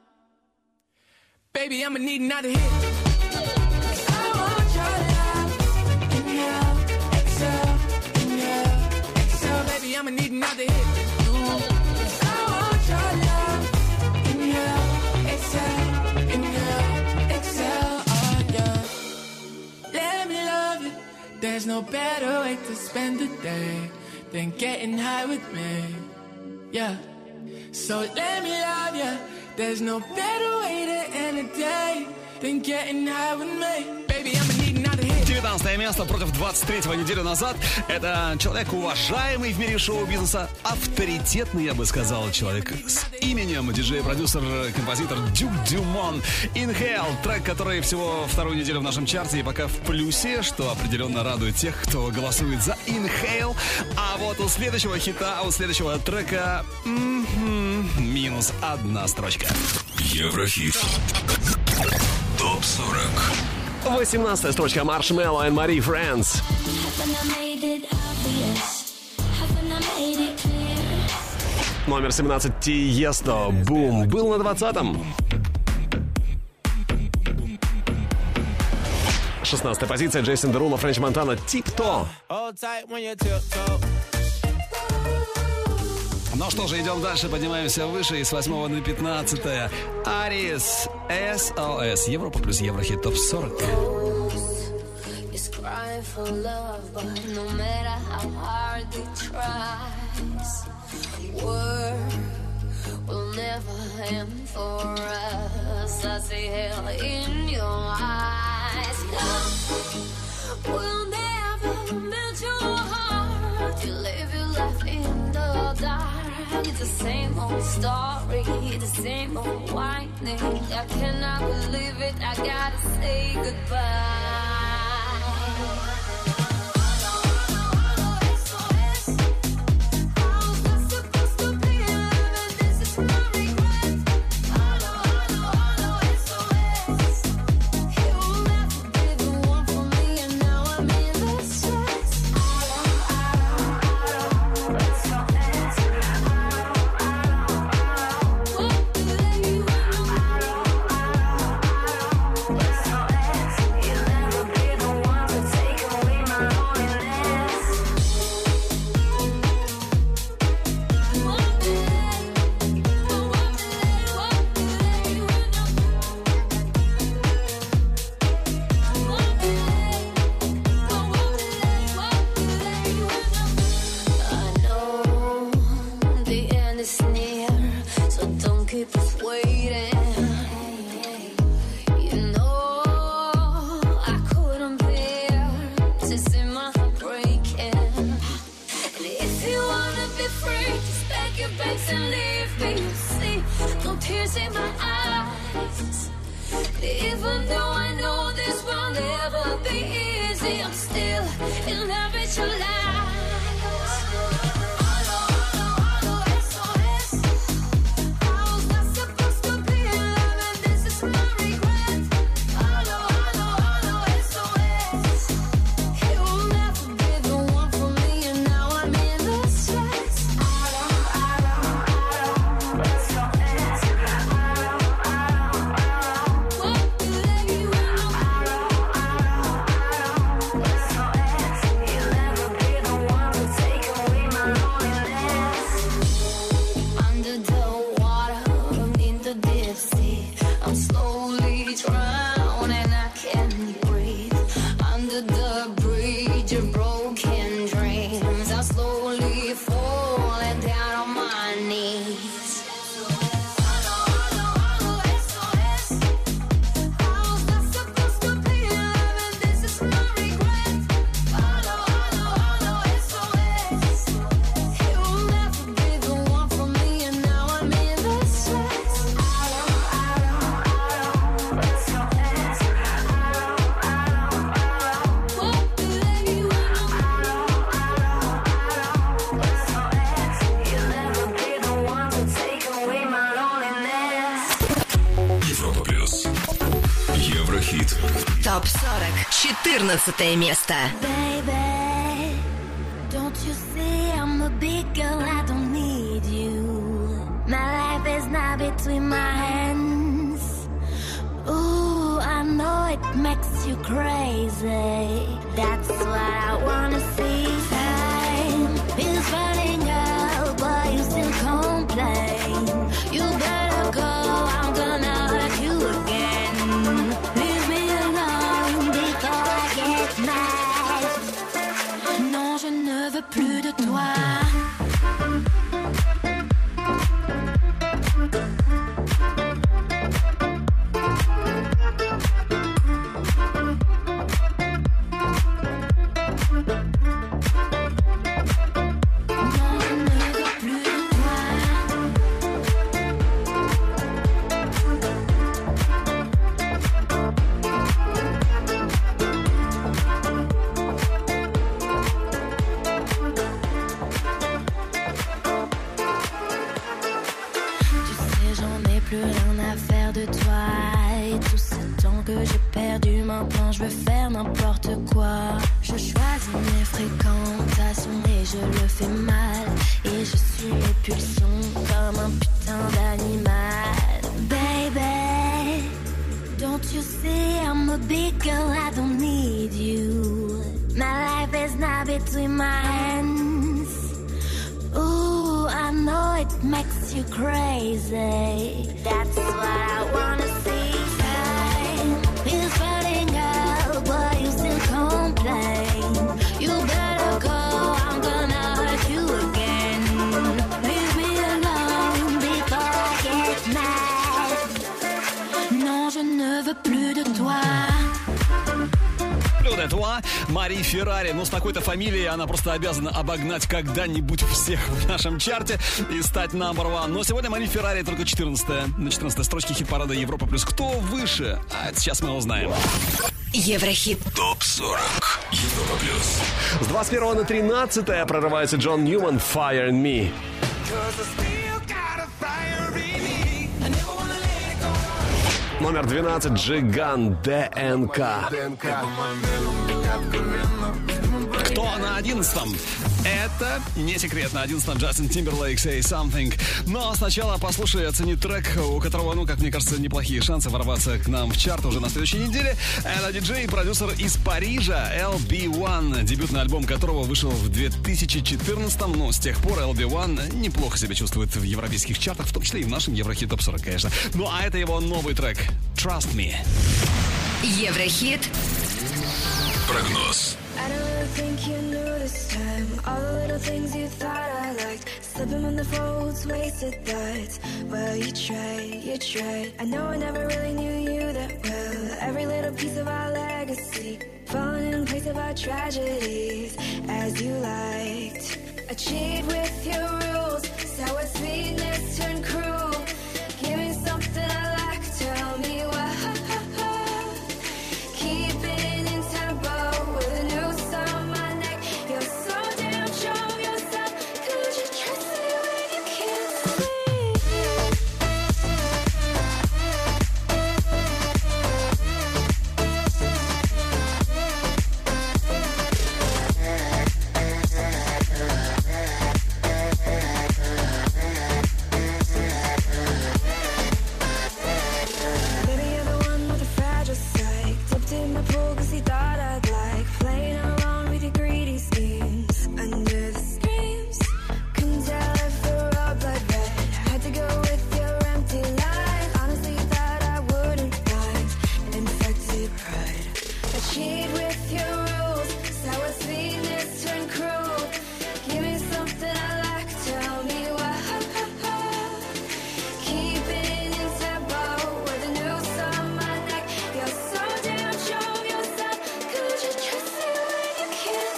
Baby, I'ma need another hit. I want your love. Inhale, exhale, inhale, exhale. Baby, I'ma need another hit. I want your love. Inhale, exhale, inhale, exhale. Oh yeah. Let me love you. There's no better way to spend the day than getting high with me. Yeah. So let me love you. There's no better way to end a day than getting high with me. Baby, I'ma need another hit. девятнадцатое место против двадцать третьего неделю назад. Это человек, уважаемый в мире шоу-бизнеса, авторитетный, я бы сказал, человек с именем, диджей-продюсер, композитор Дюк Дюмон. Inhale, трек, который всего вторую неделю в нашем чарте и пока в плюсе, что определенно радует тех, кто голосует за Inhale. А вот у следующего хита, у следующего трека м-м, минус одна строчка. Еврохит. топ сорок. восемнадцатая строчка Marshmello and Marie Friends. Номер семнадцать Тиесто. Бум. Был на двадцатом. шестнадцатая позиция Джейсон Деруло, Френч Монтана. Тип-то. Ну что же, идем дальше, поднимаемся выше. И с восьмого на пятнадцатое. Арис, эс о эс. Европа плюс Еврохит топ сорок. It's the same old story, the same old whining. I cannot believe it, I gotta say goodbye. четырнадцатое место. Baby, don't you see I'm a big girl, I don't need you. My life is now between my hands. Ooh, I know it makes you crazy. That's what I wanna see. Time is running out, but you still complain. You better go, I'm gonna hurt you again. Leave me alone before I get mad. Non, je ne veux plus de toi. Maintenant je veux faire n'importe quoi. Je choisis mes fréquentations et je le fais mal. Et je suis mes pulsions comme un putain d'animal. Baby, don't you see I'm a big girl, I don't need you. My life is now between my hands. Ooh, I know it makes you crazy. That's what I wanna see. Time is running out, but you still complain. You better go, I'm gonna hurt you again. Leave me alone before I get mad. Non, je ne veux plus de toi. Вот этого Мари Феррари. Ну, с такой-то фамилией она просто обязана обогнать когда-нибудь всех в нашем чарте и стать number one. Но сегодня Мари Феррари только четырнадцатая. На четырнадцатой строчке хит-парада Европа плюс. Кто выше? А это сейчас мы узнаем. Еврохит. топ сорок. Европа плюс. С двадцать первого на тринадцатое прорывается Джон Ньюман «Fire in Me». Номер двенадцать Джиган ДНК. Кто на одиннадцатом? Это не секрет. На одиннадцатом Джастин Тимберлейк «Say Something». Но сначала послушай и оцени трек, у которого, ну, как мне кажется, неплохие шансы ворваться к нам в чарт уже на следующей неделе. Это диджей и продюсер из Парижа эл би один, дебютный альбом которого вышел в две тысячи четырнадцатом. Но с тех пор эл би один неплохо себя чувствует в европейских чартах, в том числе и в нашем Еврохит топ сорок, конечно. Ну, а это его новый трек «Trust Me». Еврохит. Прогноз. I don't really think you knew this time. All the little things you thought I liked, slipping on the folds, wasted thoughts. Well, you tried, you tried. I know I never really knew you that well. Every little piece of our legacy, falling in place of our tragedies, as you liked. I cheat with your rules, sour sweetness turned cruel. Give me something I like, tell me why. Keeping in tempo with a noose on my neck. You're so damn sure of yourself. Could you trust me when you can't Baby, you're the one with a fragile side. Dipped in my pool cause he thought I'd like playing along with your greedy schemes. Under the screams, couldn't tell if the road blood red. Had to go with your empty line. Honestly, you thought I wouldn't mind. Infected pride. I cheat with your rules. Sour sweetness turned cruel. Give me something I like, tell me why. Keeping in tempo with a noose on my neck. You're so damn sure of yourself. Could you trust me when you can't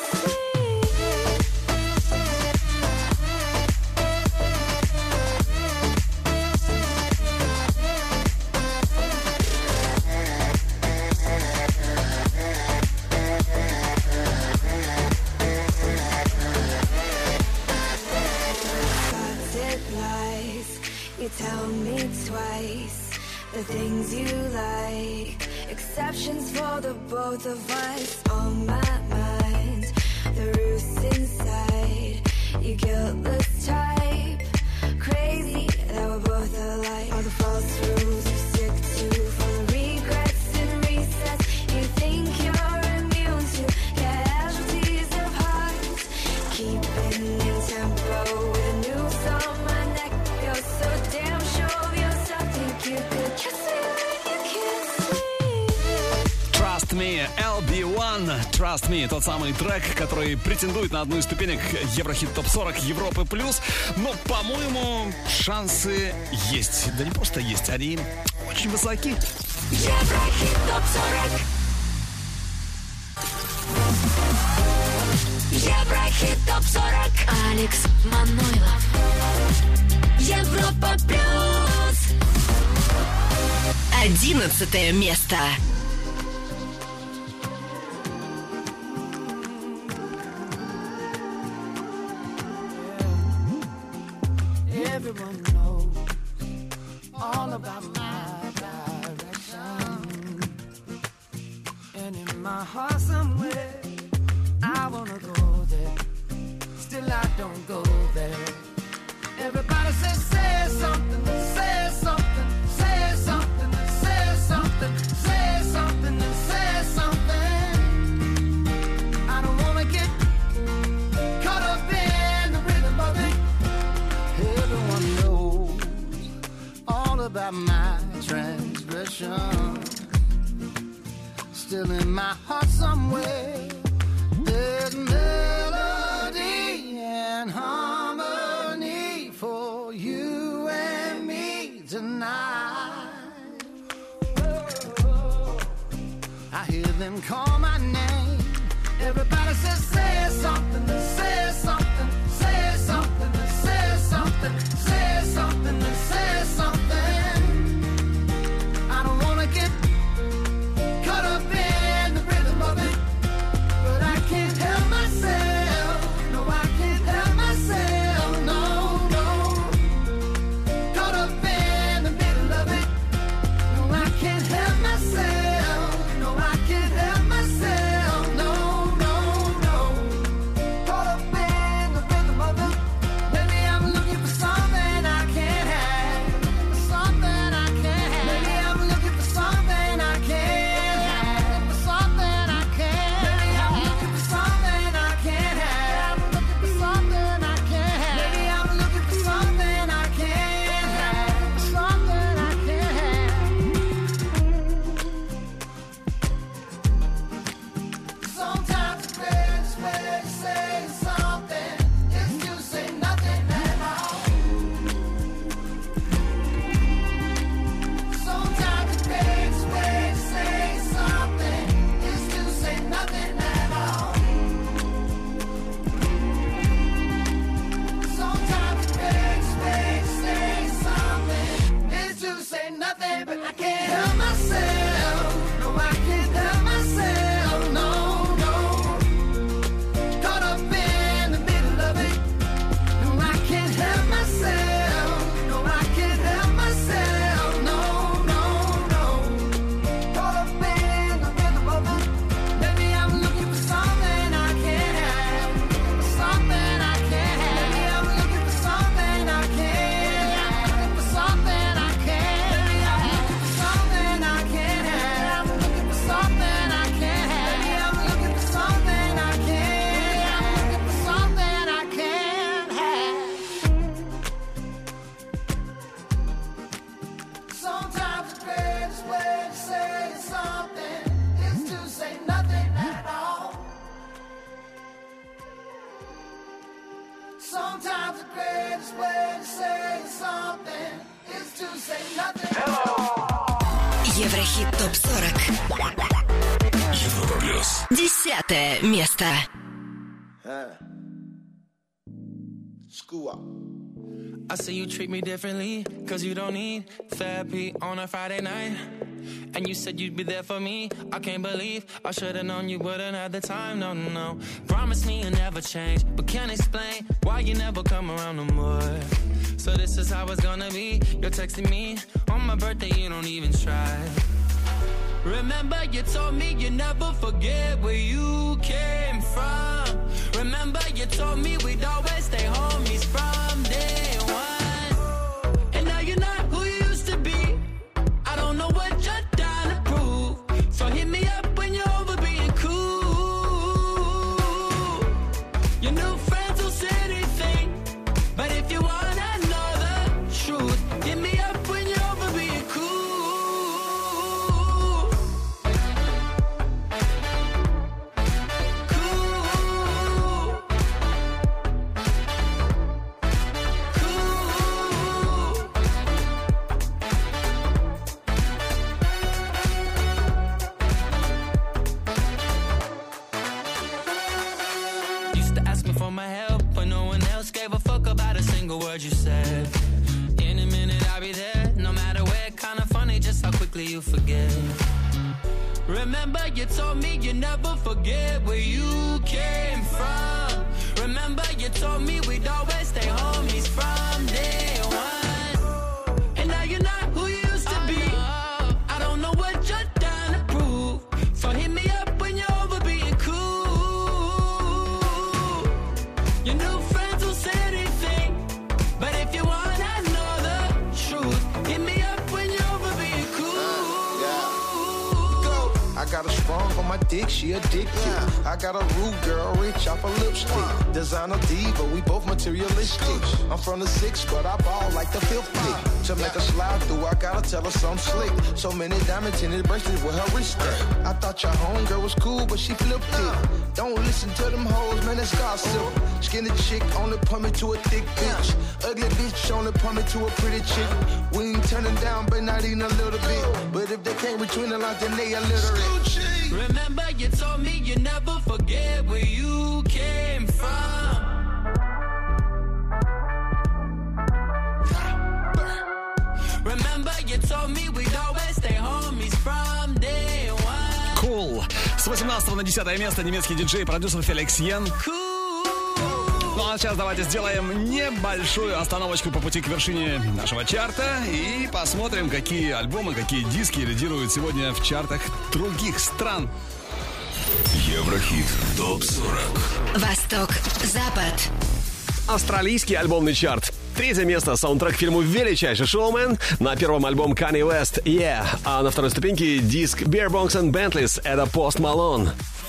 Thoughts it lies. You tell me twice the things you like. exceptions for the both of us. On my mind, the roots inside. You guiltless type, crazy that we're both alike. All the false rules you stick to, for the regrets and resets. You think you're immune to casualties of hearts. Keeping in tempo with a noose on my neck. You're so damn sure of yourself. Think you could kiss me when you kiss me. Trust Me, эл би один, Trust Me, тот самый трек, который претендует на одну из ступенек Еврохит топ сорок Европы плюс. Но, по-моему, шансы есть. Да не просто есть, они очень высоки. Еврохит топ сорок. Еврохит топ сорок. Алекс Манойлов. Европа плюс. Одиннадцатое место. Everyone knows all about my direction. And in my heart somewhere, I wanna go there. Still I don't go there. Everybody says, say something, say something, say something, say something, say something, and say something. I don't wanna get caught up in the rhythm of it. Everyone knows all about my transgression. Still in my heart somewhere, there's melody and harmony for you and me tonight. I hear them call my name. Everybody says, say something, say something, say something, say something, say something, say something. I don't wanna get caught up in the rhythm of it, but I can't help myself. No, I can't help myself. No, no. Caught up in the middle of it. No, I can't help myself. No, I can't help myself. No, no, no. Caught up in the rhythm of it. Maybe I'm looking for something I can't have. Something I can't have. Maybe I'm looking for something I can't have. Something I can't. Maybe I'm looking for something I can't have. Looking for something I can't have. Maybe I'm looking for something I can't have. Something I can't have. Sometimes the greatest way to say something is to say nothing at all. Sometimes the greatest way to say something is to say nothing at all. Sometimes the greatest way to say something is to say nothing, but I can't help myself. No, I can't help myself. No, no. Caught up in the middle of it. No, I can't help myself. No, I can't help myself. No, no, no. Caught up in the rhythm of it. Maybe I'm looking for something I can't have. Something I can't have. Maybe I'm looking for something I can't have. For something I can't. Maybe I'm looking for something I can't have. Looking for something I can't have. Maybe I'm looking for something I can't have. Looking for something I can't have. Sometimes the greatest way to say something is to say nothing at all. Sometimes the greatest way to say something is to say nothing at all. Еврохит топ сорок. Европа плюс. Десятое место. School up. I see you treat me differently, cause you don't need therapy on a Friday night. And you said you'd be there for me. I can't believe I should've known you wouldn't have the time. No, no, no. Promise me you'll never change, but can't explain why you never come around no more. So this is how it's gonna be. You're texting me on my birthday, you don't even try. Remember you told me you never forget where you came from. Remember you told me we'd always stay homies from day one. And now you're not who you used to be. I don't know what you're trying to prove. So hit me up when you're over being cool. Your new friends will say anything, but if you wanna know the truth, hit me up when you're over being cool. Used to ask me for my help, but no one else gave a fuck about a single word you said. In a minute I'll be there, no matter where. Kinda funny just how quickly you forget. Remember you told me you never forget where you came from. Remember you told me we'd always stay homies from day one. And now you're not who you used to be. I don't know what you're trying to prove. So hit me up when you're over being cool. Your new friends will say anything, but if you wanna know the truth, hit me up when you're over being cool. Go. I got a sprung on my dick, she addicted. I got a rude girl, rich off a lipstick. Designer diva, we both materialistic. I'm from the six, but I ball like the fifth pick. To make a slide through, I gotta tell her something slick. So many diamond tinted bracelets with her wrist. I thought your homegirl was cool, but she flipped it. Don't listen to them hoes, man, that's gossip. Skinny chick only put me to a thick bitch. Ugly bitch only put me to a pretty chick. We ain't turning down, but not even a little bit. But if they came between the lines, then they illiterate. Remember you told me you never forget where you came from. Remember you told me we'd always stay homies from day one. Cool. С восемнадцатого на десятое место немецкий диджей, продюсер Феликс Йен. Ну а сейчас давайте сделаем небольшую остановочку по пути к вершине нашего чарта и посмотрим, какие альбомы, какие диски лидируют сегодня в чартах других стран. Еврохит топ сорок. Восток, Запад. Австралийский альбомный чарт. Третье место — саундтрек к фильму «Величайший шоумен». На первом альбом Kanye West «Yeah». А на второй ступеньке диск Beer Bongs and Bentleys — это Post Malone.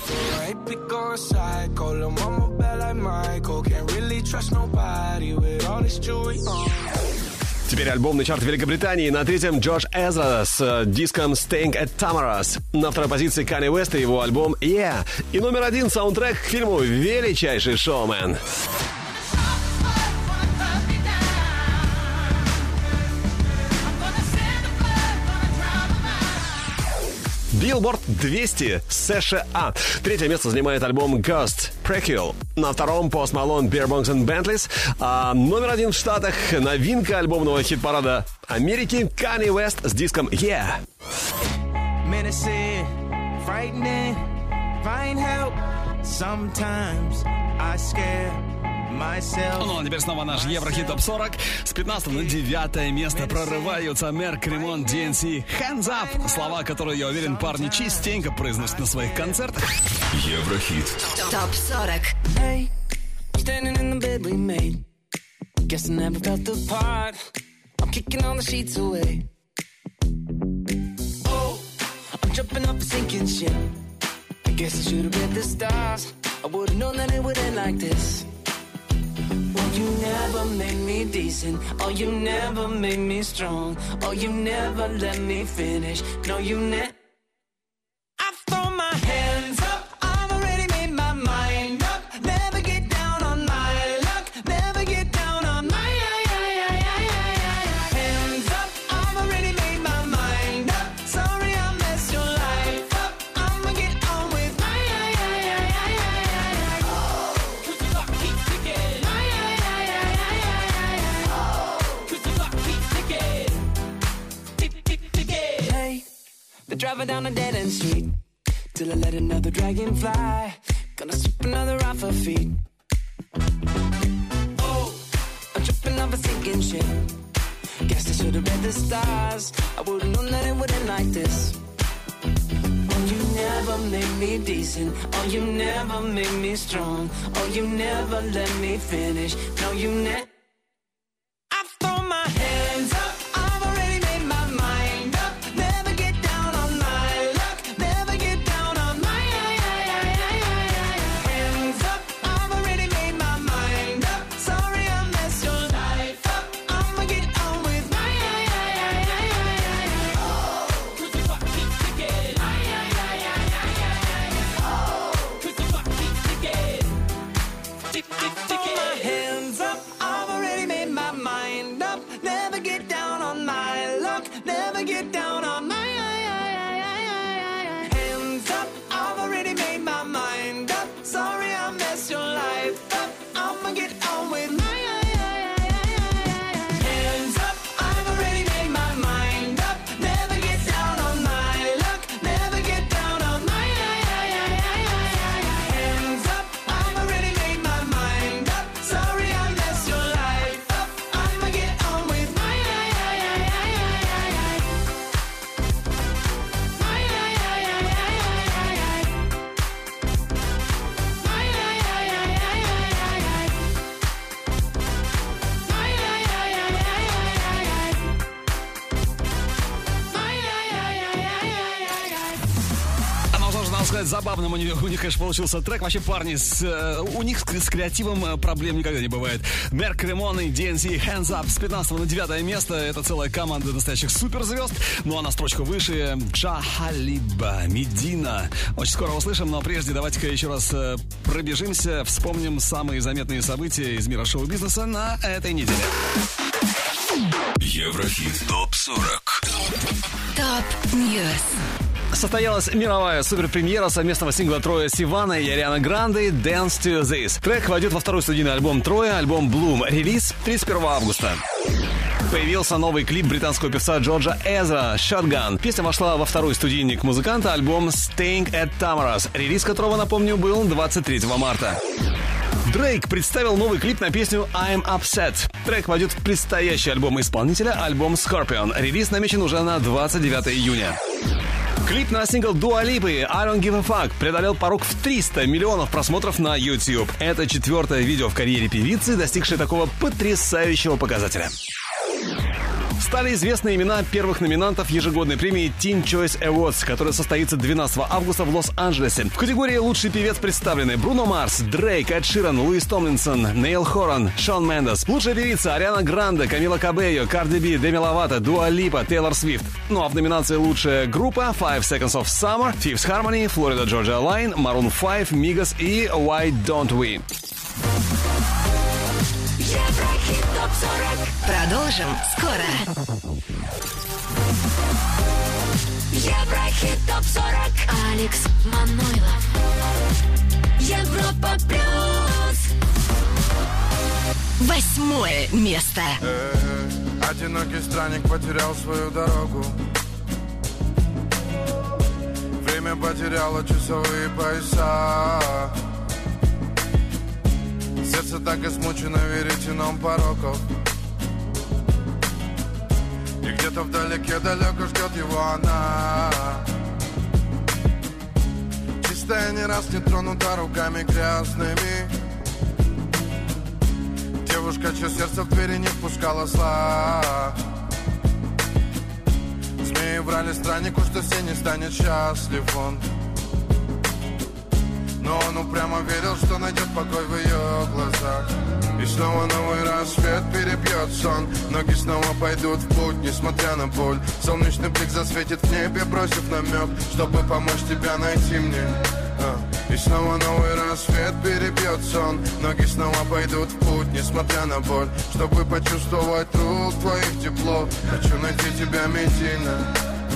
Теперь альбомный чарт Великобритании. На третьем Джордж Эзра с диском Staying at Tamara's. На второй позиции Kanye West и его альбом «Yeah». И номер один — саундтрек к фильму «Величайший шоумен». Billboard двести США. Третье место занимает альбом Ghost Prequel. На втором Post Malone, Beer Bongs and Bentleys. А номер один в Штатах — новинка альбомного хит-парада Америки Kanye West с диском Yeah. Menacing, frightening, find help. Sometimes I scare myself. Ну, а теперь снова наш Еврохит топ сорок. С пятнадцатого на девятое место прорываются Мерк, Ремон, ди эн си, Hands Up. Слова, которые, я уверен, парни частенько произносят на своих концертах. Еврохит топ сорок. Hey, standing in the bed we made. Guess I never felt the part. I'm kicking all the sheets away. Oh, I'm jumping off a sinking ship. I guess I should have read the stars. I would have known that it would end like this. Oh, you never made me decent. Oh, you never made me strong. Oh, you never let me finish. No, you never. I throw my hands up. I've already made my mind up. Never get down on my luck. Never get down on my hands up. I've already made my mind up. Sorry I messed your life up. I'ma get on with my cause the clock keeps ticking. Cause the clock keeps ticking. Tick, tick, ticking. Hey, they're driving down a dead end street till I let another dragon fly. Gonna sweep another off her feet. Oh, I'm tripping off a sinking ship. Guess I should've read the stars. I would've known that it would end like this. never made me decent. Oh, you never made me strong. Oh, you never let me finish. No, you never. I throw my hands up. I've already made my mind up. Never get down on my luck. Never get down on my hands up. I've already made my mind up. Sorry I messed your life up. I'ma get on with my oh, cause the clock keeps ticking. Oh, cause the clock keeps ticking. Tick, tick, ticking. My hands up. I've already made my mind up. Never get down on my luck. Never get down on my hands up. I've already made my mind up. Sorry I messed your life up. I'ma get on with my hands up. I've already made my mind up. Never get down on my luck. Never get down on my hands up. I've already made my mind up. Sorry I messed your life up. I'ma get on with my Оно тоже, надо сказать, забавным у них, у них, конечно, получился трек. Вообще, парни, с, э, у них с, с креативом э, проблем никогда не бывает. Мерк Ремон и ди эн си Hands Up с пятнадцатого на девятое место. Это целая команда настоящих суперзвезд. Ну а на строчку выше Джа Халиба, Медина. Очень скоро услышим, но прежде давайте-ка еще раз э, пробежимся, вспомним самые заметные события из мира шоу-бизнеса на этой неделе. Еврохит топ сорок. Топ Ньюс. Состоялась мировая суперпремьера совместного сингла Троя Сивана и Арианы Гранде «Dance to This». Трек войдет во второй студийный альбом Троя, альбом «Bloom». Релиз тридцать первого августа. Появился новый клип британского певца Джорджа Эзра «Shotgun». Песня вошла во второй студийник музыканта, альбом «Staying at Tamara's», релиз которого, напомню, был двадцать третьего марта. Дрейк представил новый клип на песню «I'm Upset». Трек войдет в предстоящий альбом исполнителя, альбом «Scorpion». Релиз намечен уже на двадцать девятого июня. Клип на сингл Дуа Липы «I Don't Give a Fuck» преодолел порог в триста миллионов просмотров на YouTube. Это четвертое видео в карьере певицы, достигшее такого потрясающего показателя. Стали известны имена первых номинантов ежегодной премии Teen Choice Awards, которая состоится двенадцатого августа в Лос-Анджелесе. В категории «Лучший певец» представлены Бруно Марс, Дрейк, Эд Ширан, Луис Томлинсон, Нейл Хоран, Шон Мендес. Лучшая певица Ариана Гранде, Камила Кабейо, Карди Би, Деми Ловато, Дуа Липа, Тейлор Свифт. Ну а в номинации «Лучшая группа» Five Seconds of Summer, Fifth Harmony, Florida Georgia Line, Maroon пять, Migos и Why Don't We. Еврохит топ сорок. Продолжим скоро. Еврохит топ сорок. Алекс Манойлов. Европа плюс. Восьмое место. Э-э, одинокий странник потерял свою дорогу. Время потеряло часовые пояса. Сердце так измучено веретеном пороков. И где-то вдалеке далеко ждет его она. Чистая, не раз не тронута руками грязными. Девушка, чье сердце в двери не впускала зла. Змеи врали страннику, что все не станет счастлив он. Но он упрямо верил, что найдет покой в ее глазах. И снова новый рассвет перебьет сон. Ноги снова пойдут в путь, несмотря на боль. Солнечный блик засветит в небе, бросив намек, чтобы помочь тебя найти мне. а. И снова новый рассвет перебьет сон. Ноги снова пойдут в путь, несмотря на боль, чтобы почувствовать рук твоих тепло. Хочу найти тебя, Медина.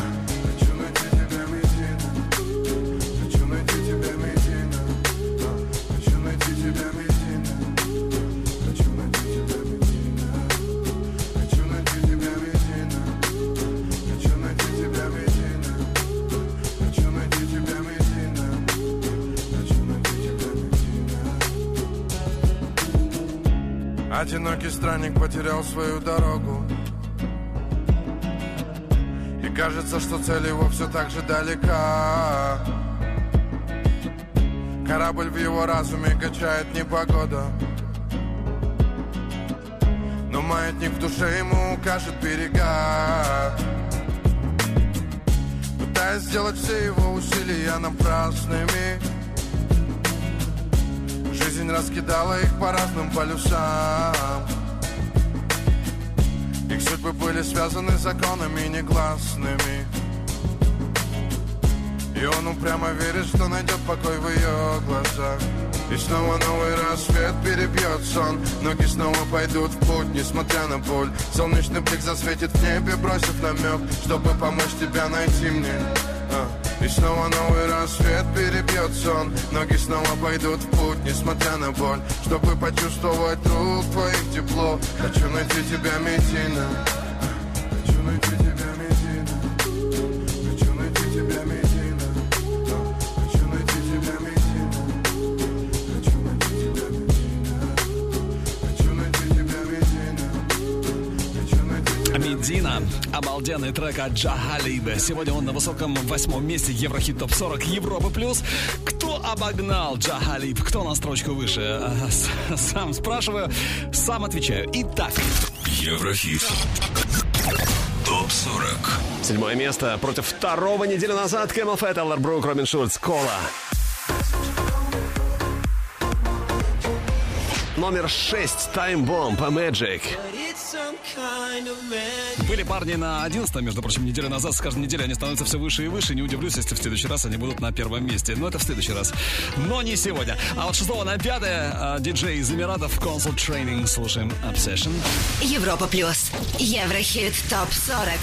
Одинокий странник потерял свою дорогу. И кажется, что цель его все так же далека. Корабль в его разуме качает непогода, но маятник в душе ему укажет берега. Пытаясь сделать все его усилия напрасными, жизнь раскидала их по разным полюсам. Их судьбы были связаны законами негласными, и он упрямо верит, что найдет покой в ее глазах. И снова новый рассвет перебьет сон, ноги снова пойдут в путь, несмотря на боль. Солнечный блик засветит в небе, бросив намек, чтобы помочь тебя найти мне. А. И снова новый рассвет перебьет сон, ноги снова пойдут в путь, несмотря на боль, чтобы почувствовать рук твоих тепло. Хочу найти тебя, Медина. Хочу найти тебя, Медина. Хочу найти тебя, Медина. Хочу найти тебя, Медина. Хочу найти тебя, Медина. Хочу найти тебя, Медина. Хочу найти тебя, Медина. Обалденный трек от Джа Халиба. Сегодня он на высоком восьмом месте Еврохит Топ сорок Европы Плюс. Кто обогнал Джа Халиб? Кто на строчку выше? Сам спрашиваю, сам отвечаю. Итак, Еврохит Топ сорок. Седьмое место против второго неделю назад. Camel Fat, Эллар Брук, Робин Шульц, Кола. Номер шесть. Time Bomb, Magic. были парни на одиннадцатом, между прочим, неделю назад. С каждой неделей они становятся все выше и выше. Не удивлюсь, если в следующий раз они будут на первом месте. Но это в следующий раз. Но не сегодня. А вот шестого на пятое диджей из Эмиратов Console Training. Слушаем Obsession. Европа Плюс. Еврохит Топ сорок.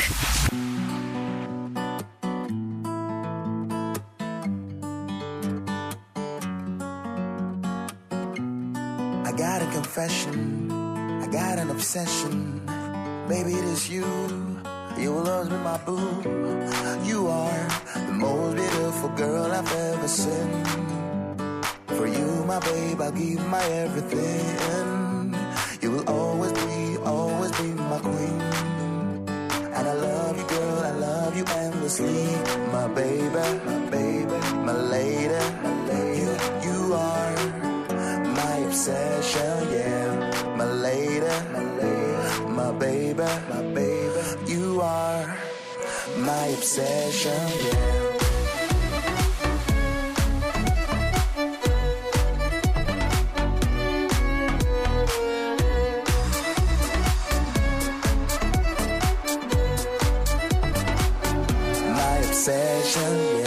I got a confession, I got an obsession. Baby, it is you, you will always be my boo. You are the most beautiful girl I've ever seen. For you, my babe, I'll give my everything. You will always be, always be my queen. And I love you, girl, I love you endlessly. My baby, my baby, my lady, my lady. You, you are my obsession, yeah. My lady, my lady, my baby, my baby. You are my obsession, yeah. My obsession, yeah.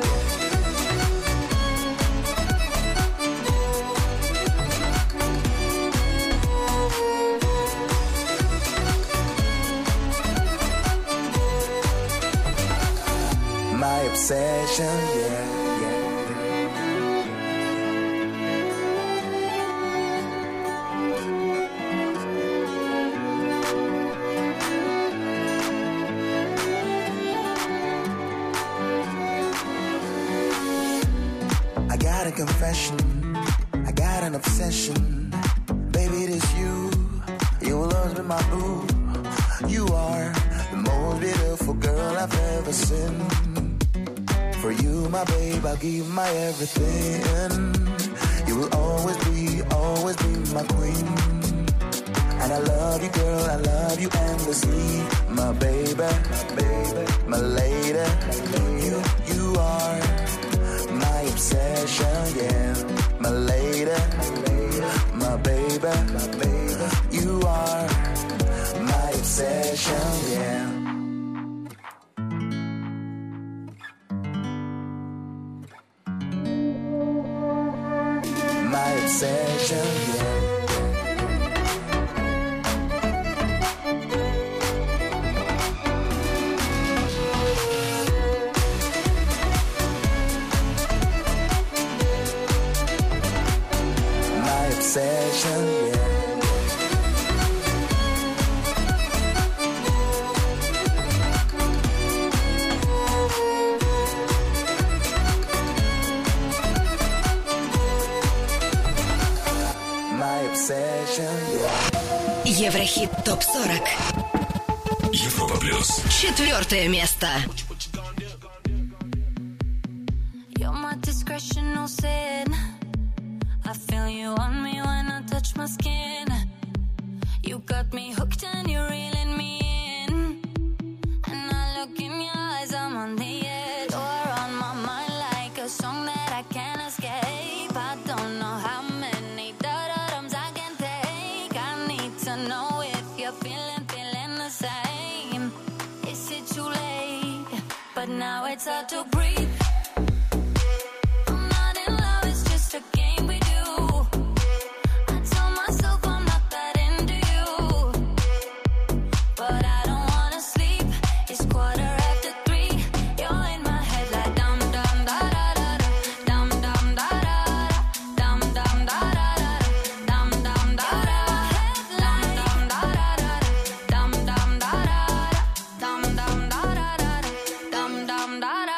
My obsession, yeah, yeah. I got a confession, I got an obsession. Baby, it is you, you will always be my boo. You are the most beautiful girl I've ever seen. For you, my babe, I'll give my everything. You will always be, always be my queen. And I love you, girl, I love you endlessly. My baby, my baby, my lady. You, you are my obsession, yeah. My lady, my baby, my baby. You are my obsession, yeah. My obsession, yeah. My obsession, yeah. My obsession, yeah. Еврохит Топ сорок. Европа Плюс. Четвертое место. You're my discretional sin. touch my skin. You got me hooked and you're reeling me in. And I look in your eyes, I'm on the edge. You're on my mind like a song that I can't escape. I don't know how many da-da-dums I can take. I need to know if you're feeling, feeling the same. Is it too late? But now it's hard to breathe. I'm not in love, it's just a game we do. I tell myself I'm not that into you, but I don't wanna sleep. It's quarter after three. You're in my head like dum dum da da da da, dum dum da da da, dum dum da da da, dum dum da da, dum dum da da da, dum dum da da, dum dum da da da, dum dum da da.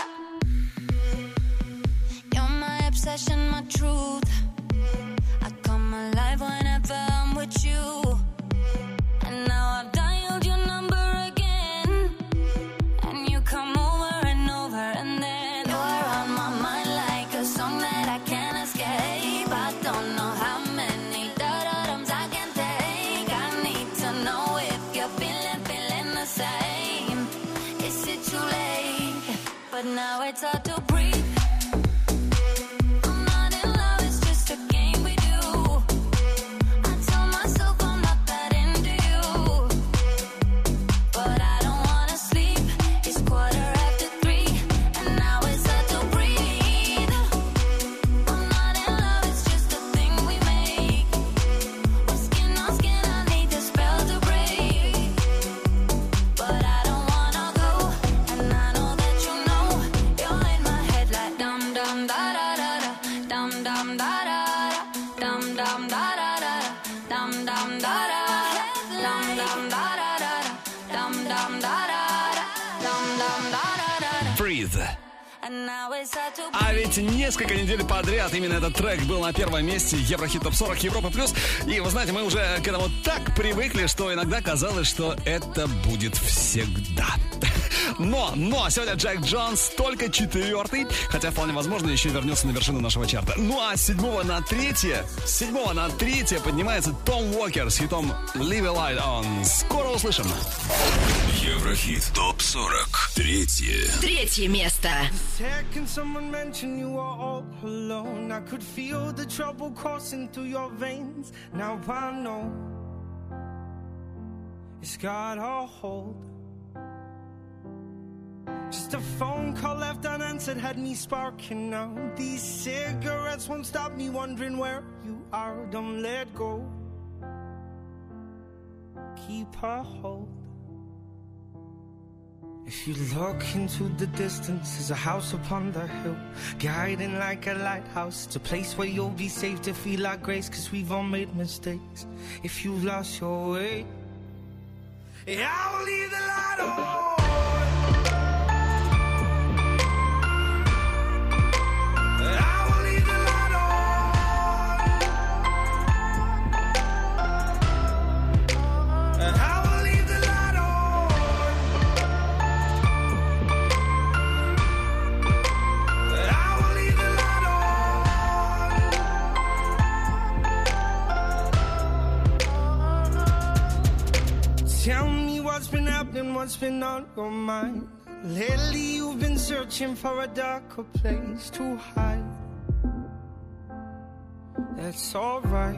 You're my obsession, my truth. I come alive whenever I'm with you. And now I've dialed your number again, and you come over and over, and then you're on my mind like a song that I can't escape. I don't know how many da-da-dums I can take. I need to know if you're feeling, feeling the same. Is it too late? But now it's hard to breathe. I'm not in love, it's just a game we do. I tell myself I'm not that into you, but I don't wanna sleep. It's quarter after three, and now it's hard to breathe. I'm not in love, it's just a thing we make. We're skin on skin, I need the spell to break. But I don't wanna go, and I know that you know. You're in my head like dum dum da da da da, dum dum da da da, dum dum da da da, dum dum da da, dum dum da da da, dum dum da da, dum dum da da da. Breathe. And now it's hard to А ведь несколько недель подряд именно этот трек был на первом месте Еврохит Топ сорок Европа Плюс. И вы знаете, мы уже к этому так привыкли, что иногда казалось, что это будет всегда. Но, но, сегодня Джек Джонс только четвертый, хотя вполне возможно еще вернется на вершину нашего чарта. Ну а с седьмого на третье, с седьмого на третье поднимается Том Уокер с хитом Leave a Light On. Скоро услышим. Еврохит Топ сорок. Третье. Третье место. Second someone mentioned you were all alone. I could feel the trouble coursing through your veins. Now I know it's got a hold. Just a phone call left unanswered had me sparking now. These cigarettes won't stop me wondering where you are. Don't let go. Keep a hold. If you look into the distance, there's a house upon the hill, guiding like a lighthouse. It's a place where you'll be safe to feel our grace, cause we've all made mistakes. If you've lost your way, yeah, I will leave the light on. I will leave the light on. I will leave the light on. I will leave the light on. Tell me what's been happening, what's been on your mind. Lately you've been searching for a darker place to hide. That's alright.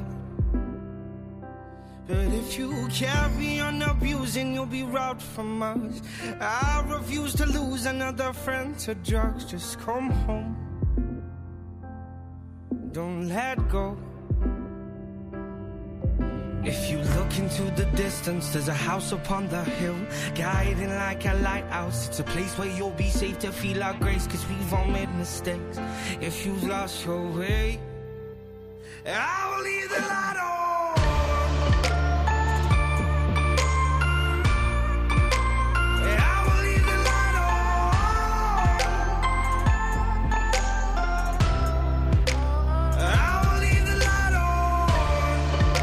But if you carry on abusing, you'll be robbed from us. I refuse to lose another friend to drugs. Just come home. Don't let go. If you look into the distance, there's a house upon the hill, guiding like a lighthouse. It's a place where you'll be safe to feel our grace, cause we've all made mistakes. If you've lost your way, I will leave the light on. I will leave the light on. I will leave the light on.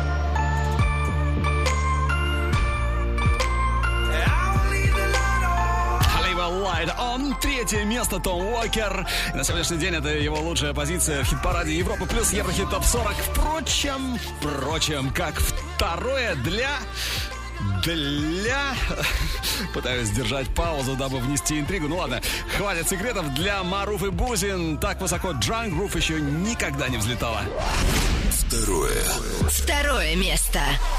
Light On, третье место Том Уокер. И на сегодняшний день это его лучшая позиция в хит-параде Европа плюс Еврохит топ сорок. Впрочем, впрочем, как второе для... Для... Пытаюсь сдержать паузу, дабы внести интригу. Ну ладно, хватит секретов. Для Маруф и Бузин так высоко Drunk Groove еще никогда не взлетала. Второе. Второе место.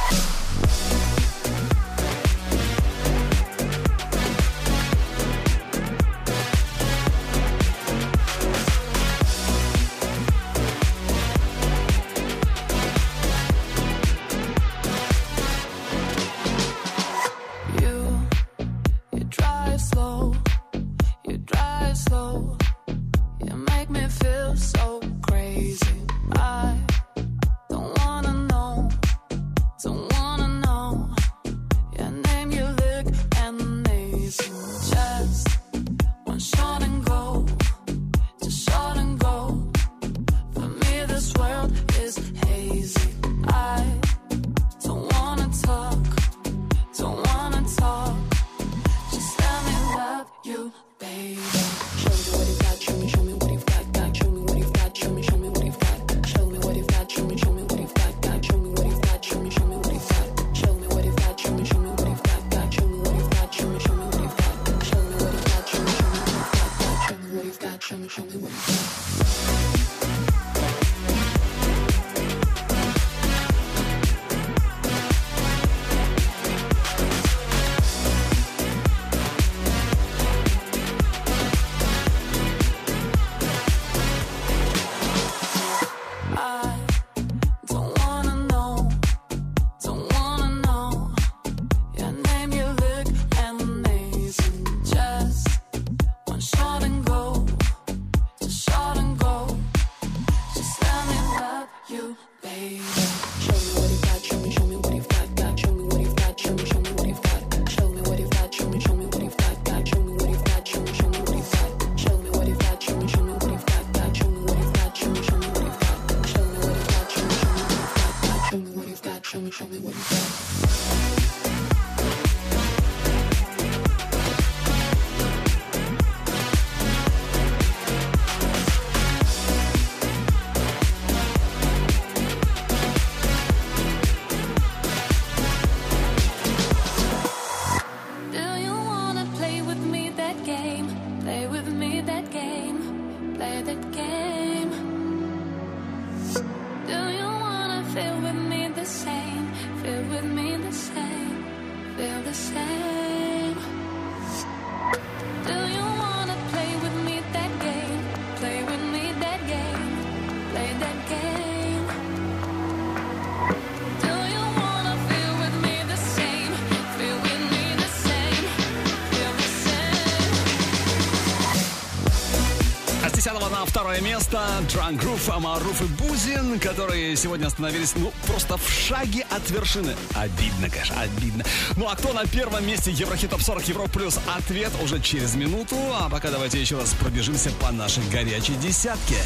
На второе место Drunk Groove, Маруф и Бузин, которые сегодня остановились, ну, просто в шаге от вершины. Обидно, конечно, обидно. Ну, а кто на первом месте Еврохит топ сорок Европа плюс? Ответ уже через минуту. А пока давайте еще раз пробежимся по нашей горячей десятке.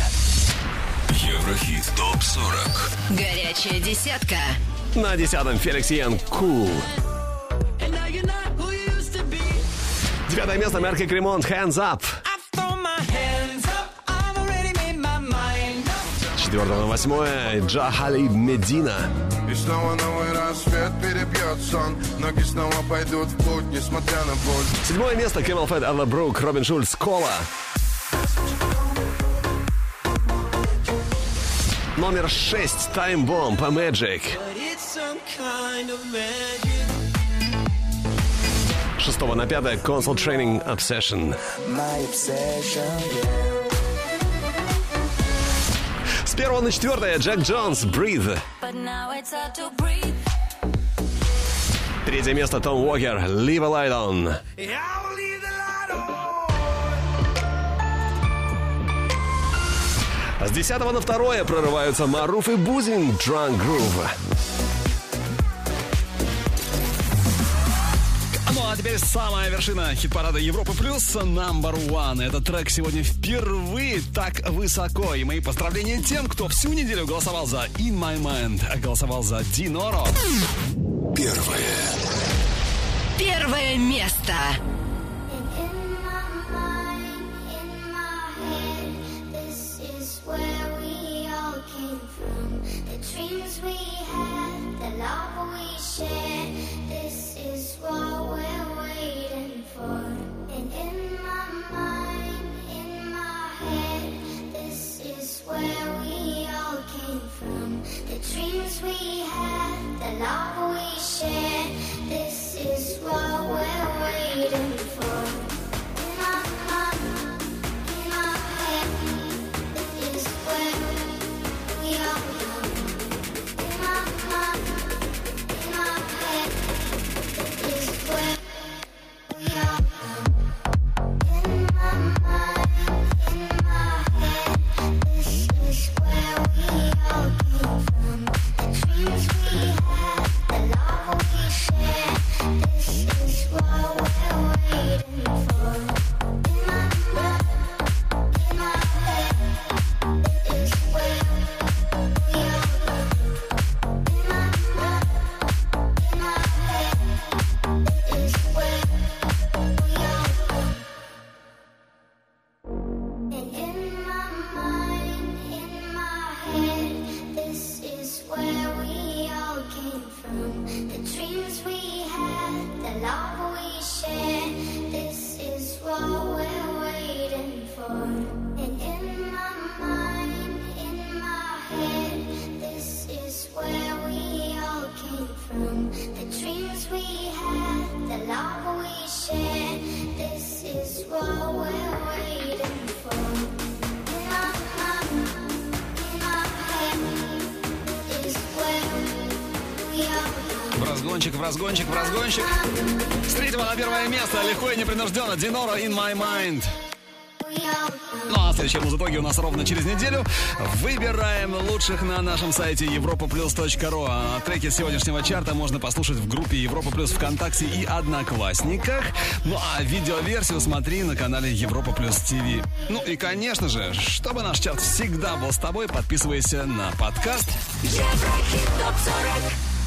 Еврохит топ сорок. Горячая десятка. На десятом Феликс Йен «Cool». Девятое место Мерк и Кремонт «Hands Up». Четвертое на восьмое Джа Халиб «Медина». И снова новый рассвет перебьет сон. Ноги снова пойдут в путь, несмотря на боль. Седьмое место Кэмел Фэт, Элла Брук, Робин Шульц «Кола». Номер шесть Time Bomb Magic. Шестого на пятое Console Training Obsession. С первого на четвертое Джек Джонс Breathe. Третье место Том Уокер Leave a Light On. С десятого на второе прорываются Маруф и Бузин Drunk Groove. Ну а теперь самая вершина хит-парада Европы плюс Number One. Этот трек сегодня впервые так высоко. И мои поздравления тем, кто всю неделю голосовал за In My Mind, а голосовал за Диноро. Первое. Первое место. In my mind, love we share. This is what we're waiting for. And in my mind, in my head, this is where we all came from. The dreams we had, the love we share. This is what we're waiting for. In my mind, in my head, this is where we all come. In my mind, in my head, this is where we all come. In my mind, in my head, this is where we all came from. The dreams we had, the love we share. This is what we're waiting for. In my mind, in my head, this is where we all come. In my mind, in my head, this is where we all come. And in my mind, in my head, this is where we all came from. The dreams we had, the love we share. This is what we're waiting for. And in my mind, in my head, this is where we all came from. The dreams we had, the love we share. This is what we're waiting for. In my mind, in my head, this is where we all come. В разгончик, в разгончик, в разгончик. С третьего на первое место легко и непринужденно Диноро In My Mind. Ну а следующие музытоги у нас ровно через неделю. Выбираем лучших на нашем сайте европа плюс точка ру. А треки сегодняшнего чарта можно послушать в группе Европа Плюс ВКонтакте и Одноклассниках. Ну а видеоверсию смотри на канале Европа Плюс ТВ. Ну и конечно же, чтобы наш чарт всегда был с тобой, подписывайся на подкаст Еврохит топ сорок.